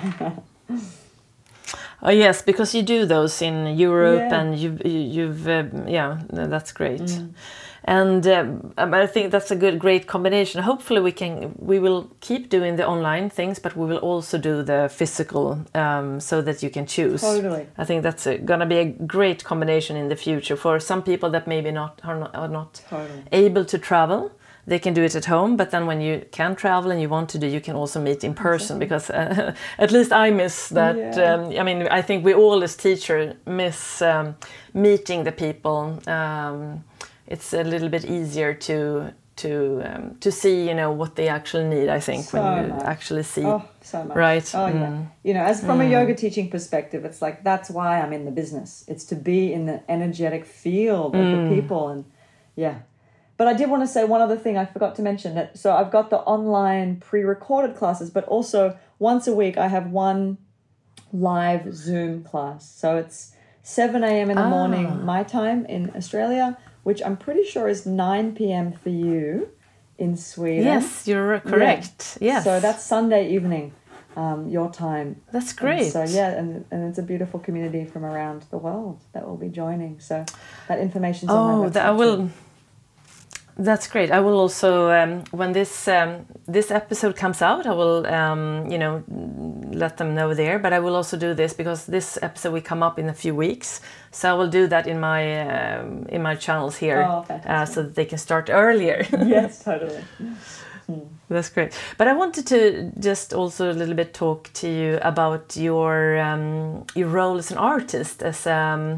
Speaker 1: Oh yes, because you do those in Europe, and you've that's great. And I think that's a great combination. Hopefully we will keep doing the online things, but we will also do the physical, so that you can choose.
Speaker 2: Totally.
Speaker 1: I think that's gonna be a great combination in the future for some people that maybe are not able to travel. They can do it at home, but then when you can travel and you want to do, you can also meet in person, because at least I miss that. I think we all as teachers miss meeting the people. It's a little bit easier to see, what they actually need, I think, when you actually see.
Speaker 2: Oh, so much.
Speaker 1: Right.
Speaker 2: Oh, yeah. As from a yoga teaching perspective, it's like, that's why I'm in the business. It's to be in the energetic field of the people. And But I did want to say one other thing I forgot to mention. So I've got the online pre-recorded classes, but also once a week I have one live Zoom class. So it's 7 a.m. in the morning, my time in Australia, which I'm pretty sure is 9 p.m. for you in Sweden.
Speaker 1: Yes, you're correct. Yeah. Yes.
Speaker 2: So that's Sunday evening, your time.
Speaker 1: That's great.
Speaker 2: And so and it's a beautiful community from around the world that will be joining. So that information's on my website.
Speaker 1: That's great. I will also, when this episode comes out, I will, let them know there. But I will also do this because this episode will come up in a few weeks. So I will do that in my channels here, so that they can start earlier.
Speaker 2: Yes, totally.
Speaker 1: That's great. But I wanted to just also a little bit talk to you about your role as an artist, as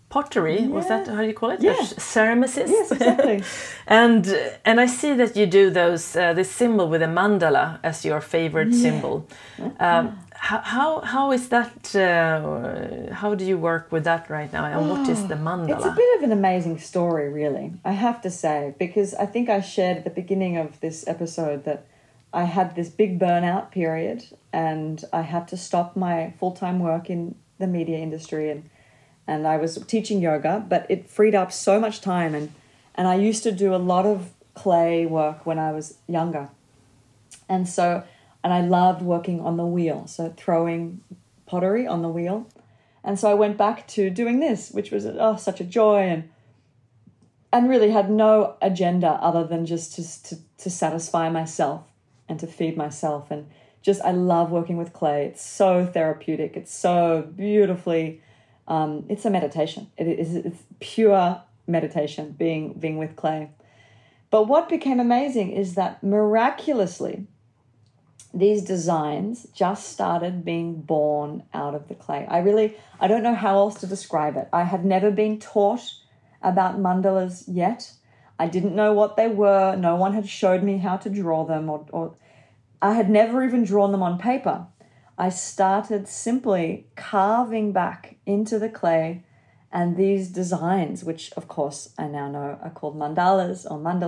Speaker 1: pottery. Was that how you call it?
Speaker 2: Yeah.
Speaker 1: Ceramicist.
Speaker 2: Yes, exactly.
Speaker 1: and I see that you do those this symbol with a mandala as your favorite symbol. How is that? How do you work with that right now? And what is the mandala?
Speaker 2: It's a bit of an amazing story, really, I have to say, because I think I shared at the beginning of this episode that I had this big burnout period and I had to stop my full-time work in the media industry and I was teaching yoga, but it freed up so much time and I used to do a lot of clay work when I was younger. And I loved working on the wheel, so throwing pottery on the wheel. And so I went back to doing this, which was such a joy and really had no agenda other than just to satisfy myself and to feed myself. And just, I love working with clay. It's so therapeutic. It's so beautifully, it's a meditation. It's pure meditation being with clay. But what became amazing is that miraculously, these designs just started being born out of the clay. I don't know how else to describe it. I had never been taught about mandalas yet. I didn't know what they were. No one had showed me how to draw them or I had never even drawn them on paper. I started simply carving back into the clay and these designs, which of course I now know are called mandalas,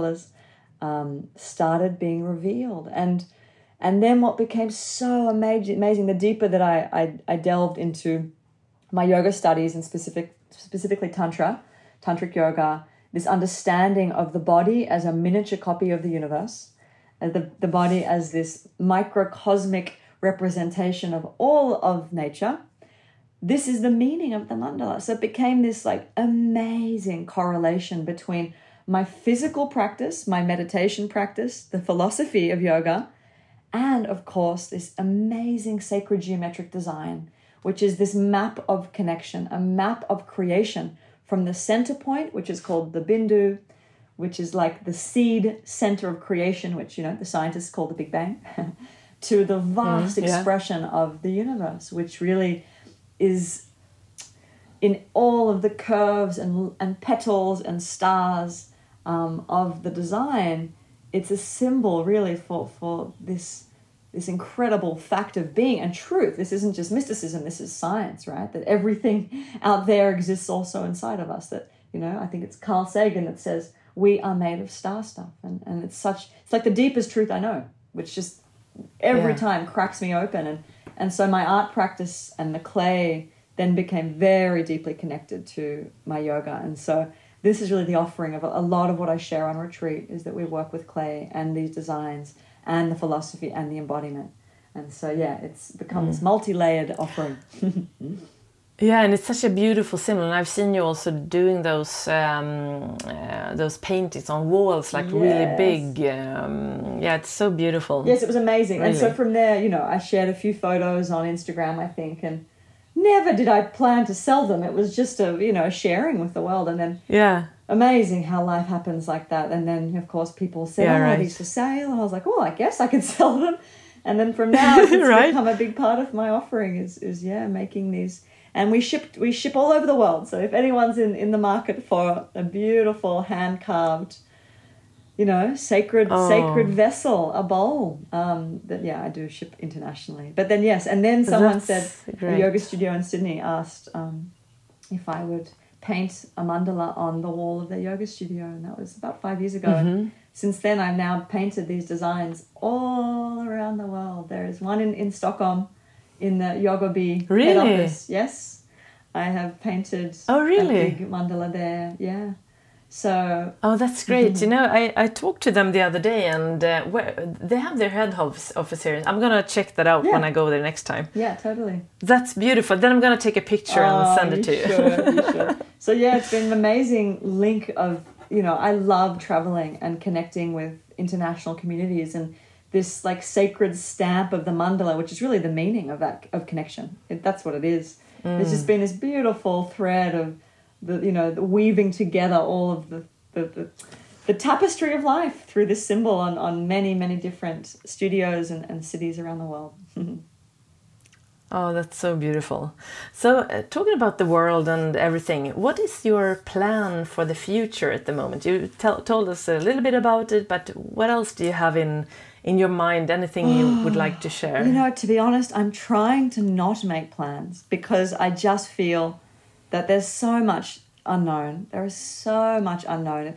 Speaker 2: started being revealed. And then what became so amazing, the deeper that I delved into my yoga studies and specifically tantric yoga, this understanding of the body as a miniature copy of the universe, the body as this microcosmic representation of all of nature. This is the meaning of the mandala. So it became this like amazing correlation between my physical practice, my meditation practice, the philosophy of yoga, and of course this amazing sacred geometric design, which is this map of connection, a map of creation from the center point, which is called the Bindu, which is like the seed center of creation, which, you know, the scientists call the Big Bang, to the vast expression of the universe, which really is in all of the curves and petals and stars of the design. It's a symbol really for this incredible fact of being and truth. This isn't just mysticism, this is science, right? That everything out there exists also inside of us. That, you know, I think it's Carl Sagan that says, we are made of star stuff. And it's like the deepest truth I know, which just every time cracks me open. And so my art practice and the clay then became very deeply connected to my yoga. And so this is really the offering of a lot of what I share on retreat, is that we work with clay and these designs and the philosophy and the embodiment. And so, it's become this multi-layered offering.
Speaker 1: Yeah, and it's such a beautiful symbol. And I've seen you also doing those paintings on walls, like really big. It's so beautiful.
Speaker 2: Yes, it was amazing.
Speaker 1: Really.
Speaker 2: And so from there, you know, I shared a few photos on Instagram, I think, and never did I plan to sell them. It was just a sharing with the world. And then amazing how life happens like that. And then, of course, people say, are these for sale? And I was like, I guess I could sell them. And then from now, it's become a big part of my offering is making these. And we ship all over the world. So if anyone's in the market for a beautiful hand-carved, you know, sacred vessel, a bowl, I do ship internationally. But then, and then someone said, a yoga studio in Sydney asked if I would paint a mandala on the wall of their yoga studio. And that was about 5 years ago.
Speaker 1: Mm-hmm.
Speaker 2: And since then, I've now painted these designs all around the world. There is one in Stockholm, in the Yoga Bee head office. Yes, I have painted a big mandala there. Yeah. So.
Speaker 1: Oh, that's great. You know, I talked to them the other day, and they have their head office here. I'm gonna check that out when I go there next time.
Speaker 2: Yeah, totally.
Speaker 1: That's beautiful. Then I'm gonna take a picture and send it to you.
Speaker 2: You should. So it's been an amazing link of, you know, I love traveling and connecting with international communities, and this like sacred stamp of the mandala, which is really the meaning of connection. That's what it is. There's just been this beautiful thread of the weaving together all of the tapestry of life through this symbol on many, many different studios and cities around the world.
Speaker 1: Oh, that's so beautiful. So, talking about the world and everything, what is your plan for the future at the moment? You told us a little bit about it, but what else do you have in your mind? Anything you would like to share?
Speaker 2: You know, to be honest, I'm trying to not make plans because I just feel that there's so much unknown. There is so much unknown.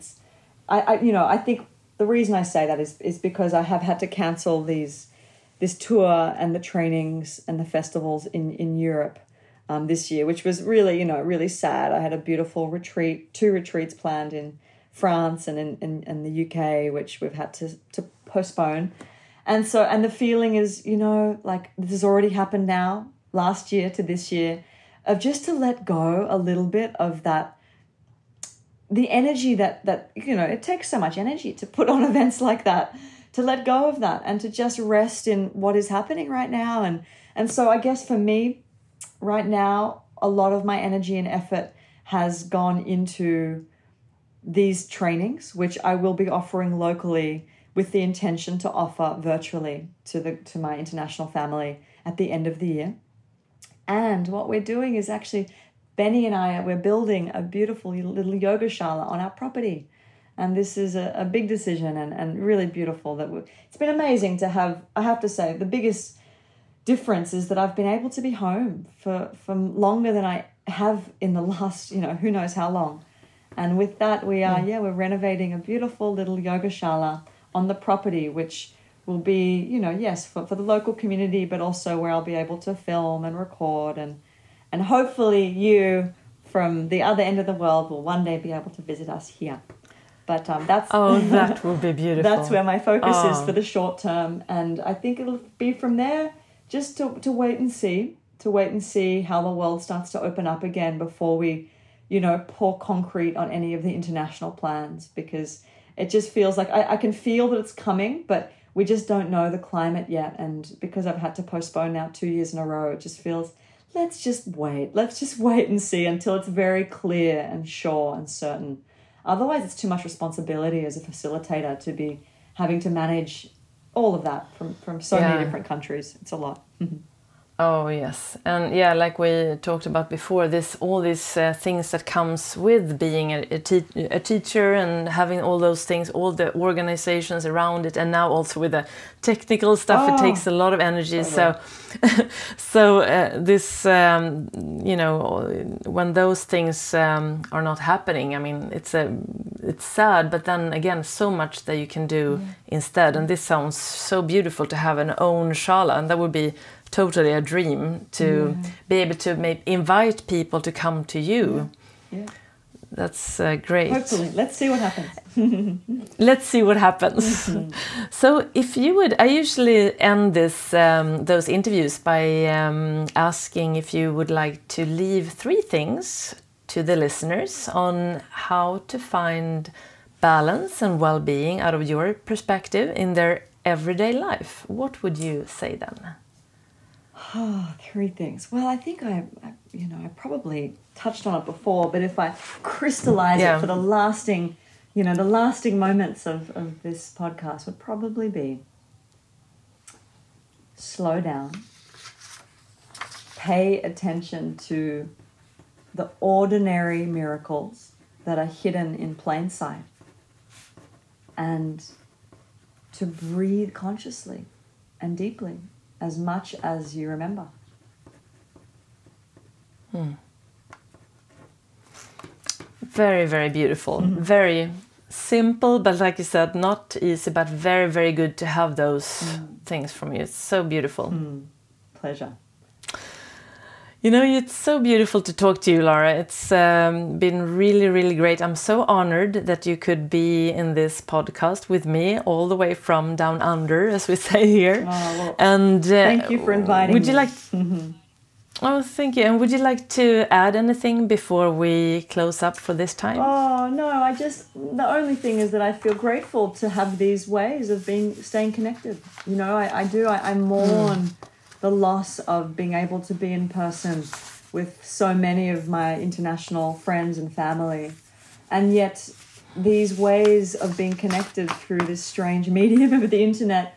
Speaker 2: I think the reason I say that is because I have had to cancel this tour and the trainings and the festivals in Europe this year, which was really, really sad. I had a beautiful retreat, 2 retreats planned in France and in the UK, which we've had to postpone. And the feeling is, like this has already happened now, last year to this year, of just to let go a little bit of that, the energy that it takes so much energy to put on events like that, to let go of that and to just rest in what is happening right now. And so I guess for me right now, a lot of my energy and effort has gone into these trainings, which I will be offering locally with the intention to offer virtually to my international family at the end of the year. And what we're doing is actually, Benny and I, we're building a beautiful little yoga shala on our property. And this is a big decision and really beautiful. It's been amazing to have, I have to say, the biggest difference is that I've been able to be home for longer than I have in the last, who knows how long. And with that, we're renovating a beautiful little yoga shala on the property, which will be, yes, for the local community, but also where I'll be able to film and record and hopefully you from the other end of the world will one day be able to visit us here. But that
Speaker 1: will be beautiful.
Speaker 2: That's where my focus is for the short term. And I think it'll be from there just to wait and see how the world starts to open up again before we, pour concrete on any of the international plans, because it just feels like I can feel that it's coming, but we just don't know the climate yet. And because I've had to postpone now 2 years in a row, it just feels, let's just wait. Let's just wait and see until it's very clear and sure and certain. Otherwise, it's too much responsibility as a facilitator to be having to manage all of that from so many different countries. It's a lot.
Speaker 1: Oh, yes. And like we talked about before, all these things that comes with being a teacher and having all those things, all the organizations around it, and now also with the technical stuff, it takes a lot of energy. Totally. So this, when those things are not happening, I mean, it's sad, but then again, so much that you can do instead. And this sounds so beautiful to have an own shala, and that would be totally a dream to be able to invite people to come to you. Yeah. That's great.
Speaker 2: Hopefully. Let's see what happens.
Speaker 1: Let's see what happens. So if you would, I usually end those interviews by asking if you would like to leave 3 things to the listeners on how to find balance and well-being out of your perspective in their everyday life. What would you say then?
Speaker 2: 3 things. Well, I think I probably touched on it before, but if I crystallize it for the lasting moments of this podcast would probably be slow down, pay attention to the ordinary miracles that are hidden in plain sight, and to breathe consciously and deeply as much as you remember.
Speaker 1: Very, very beautiful. Very simple, but like you said, not easy, but very, very good to have those things from you. It's so beautiful.
Speaker 2: Pleasure.
Speaker 1: It's so beautiful to talk to you, Lara. It's been really, really great. I'm so honored that you could be in this podcast with me all the way from down under, as we say here. And
Speaker 2: thank you for inviting me.
Speaker 1: Would you like? Oh, thank you. And would you like to add anything before we close up for this time?
Speaker 2: Oh, no. The only thing is that I feel grateful to have these ways of staying connected. I mourn the loss of being able to be in person with so many of my international friends and family. And yet these ways of being connected through this strange medium of the internet,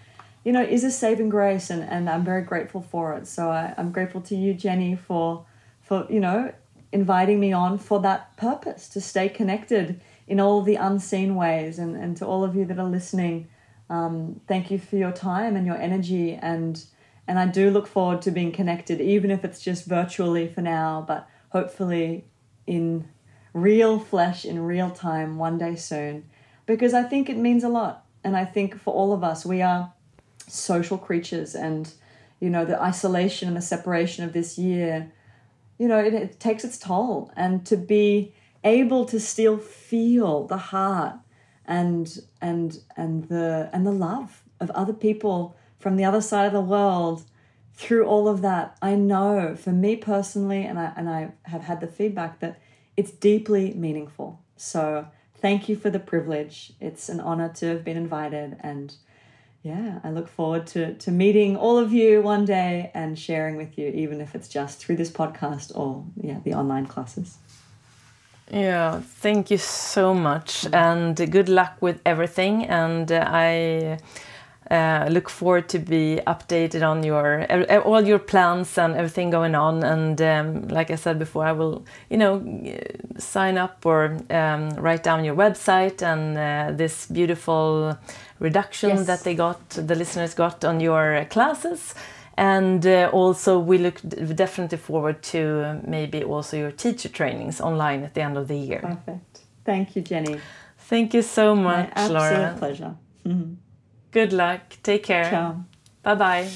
Speaker 2: is a saving grace, and I'm very grateful for it. So I'm grateful to you, Jenny, for inviting me on for that purpose, to stay connected in all the unseen ways. And to all of you that are listening, thank you for your time and your energy. And I do look forward to being connected, even if it's just virtually for now, but hopefully in real flesh, in real time, one day soon, because I think it means a lot. And I think for all of us, we are social creatures, and, the isolation and the separation of this year, it takes its toll. And to be able to still feel the heart and the love of other people from the other side of the world through all of that, I know for me personally, and I have had the feedback that it's deeply meaningful. So thank you for the privilege. It's an honor to have been invited, and I look forward to meeting all of you one day and sharing with you, even if it's just through this podcast or the online classes.
Speaker 1: Yeah, thank you so much, and good luck with everything. And I look forward to be updated on all your plans and everything going on. And like I said before, I will, sign up or write down your website and this beautiful reduction that the listeners got on your classes. And also we look definitely forward to maybe also your teacher trainings online at the end of the year.
Speaker 2: Perfect. Thank you, Jenny.
Speaker 1: Thank you so much, Laura.
Speaker 2: Absolute pleasure. Mm-hmm.
Speaker 1: Good luck. Take care.
Speaker 2: Ciao.
Speaker 1: Bye-bye.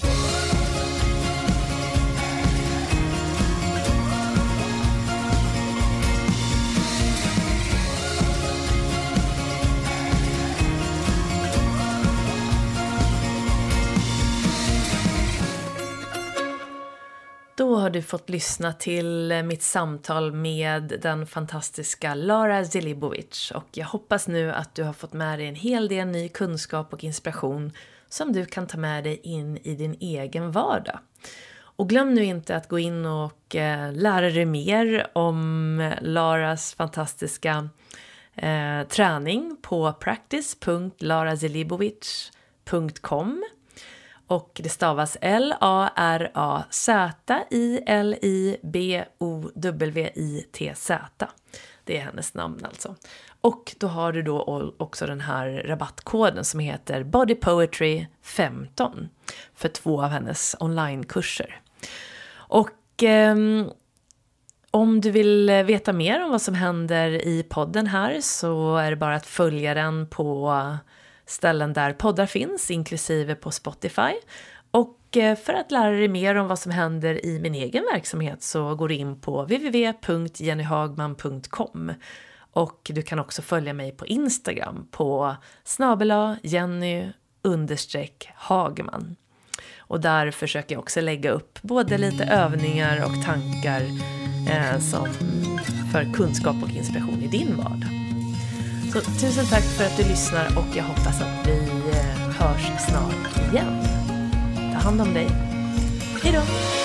Speaker 1: Då har du fått lyssna till mitt samtal med den fantastiska Lara Zelibovic, och jag hoppas nu att du har fått med dig en hel del ny kunskap och inspiration som du kan ta med dig in i din egen vardag. Och glöm nu inte att gå in och lära dig mer om Laras fantastiska träning på practice.larazelibovic.com. Och det stavas LARAZELIBOWITZ. Det är hennes namn alltså. Och då har du då också den här rabattkoden som heter Body Poetry 15 för 2 av hennes onlinekurser. Och om du vill veta mer om vad som händer i podden här, så är det bara att följa den på ställen där poddar finns, inklusive på Spotify. Och för att lära dig mer om vad som händer i min egen verksamhet så går du in på www.jennyhagman.com. Och du kan också följa mig på Instagram på @Jenny_Hagman. Och där försöker jag också lägga upp både lite övningar och tankar som för kunskap och inspiration i din vardag. Så tusen tack för att du lyssnar, och jag hoppas att vi hörs snart igen. Ta hand om dig. Hej då!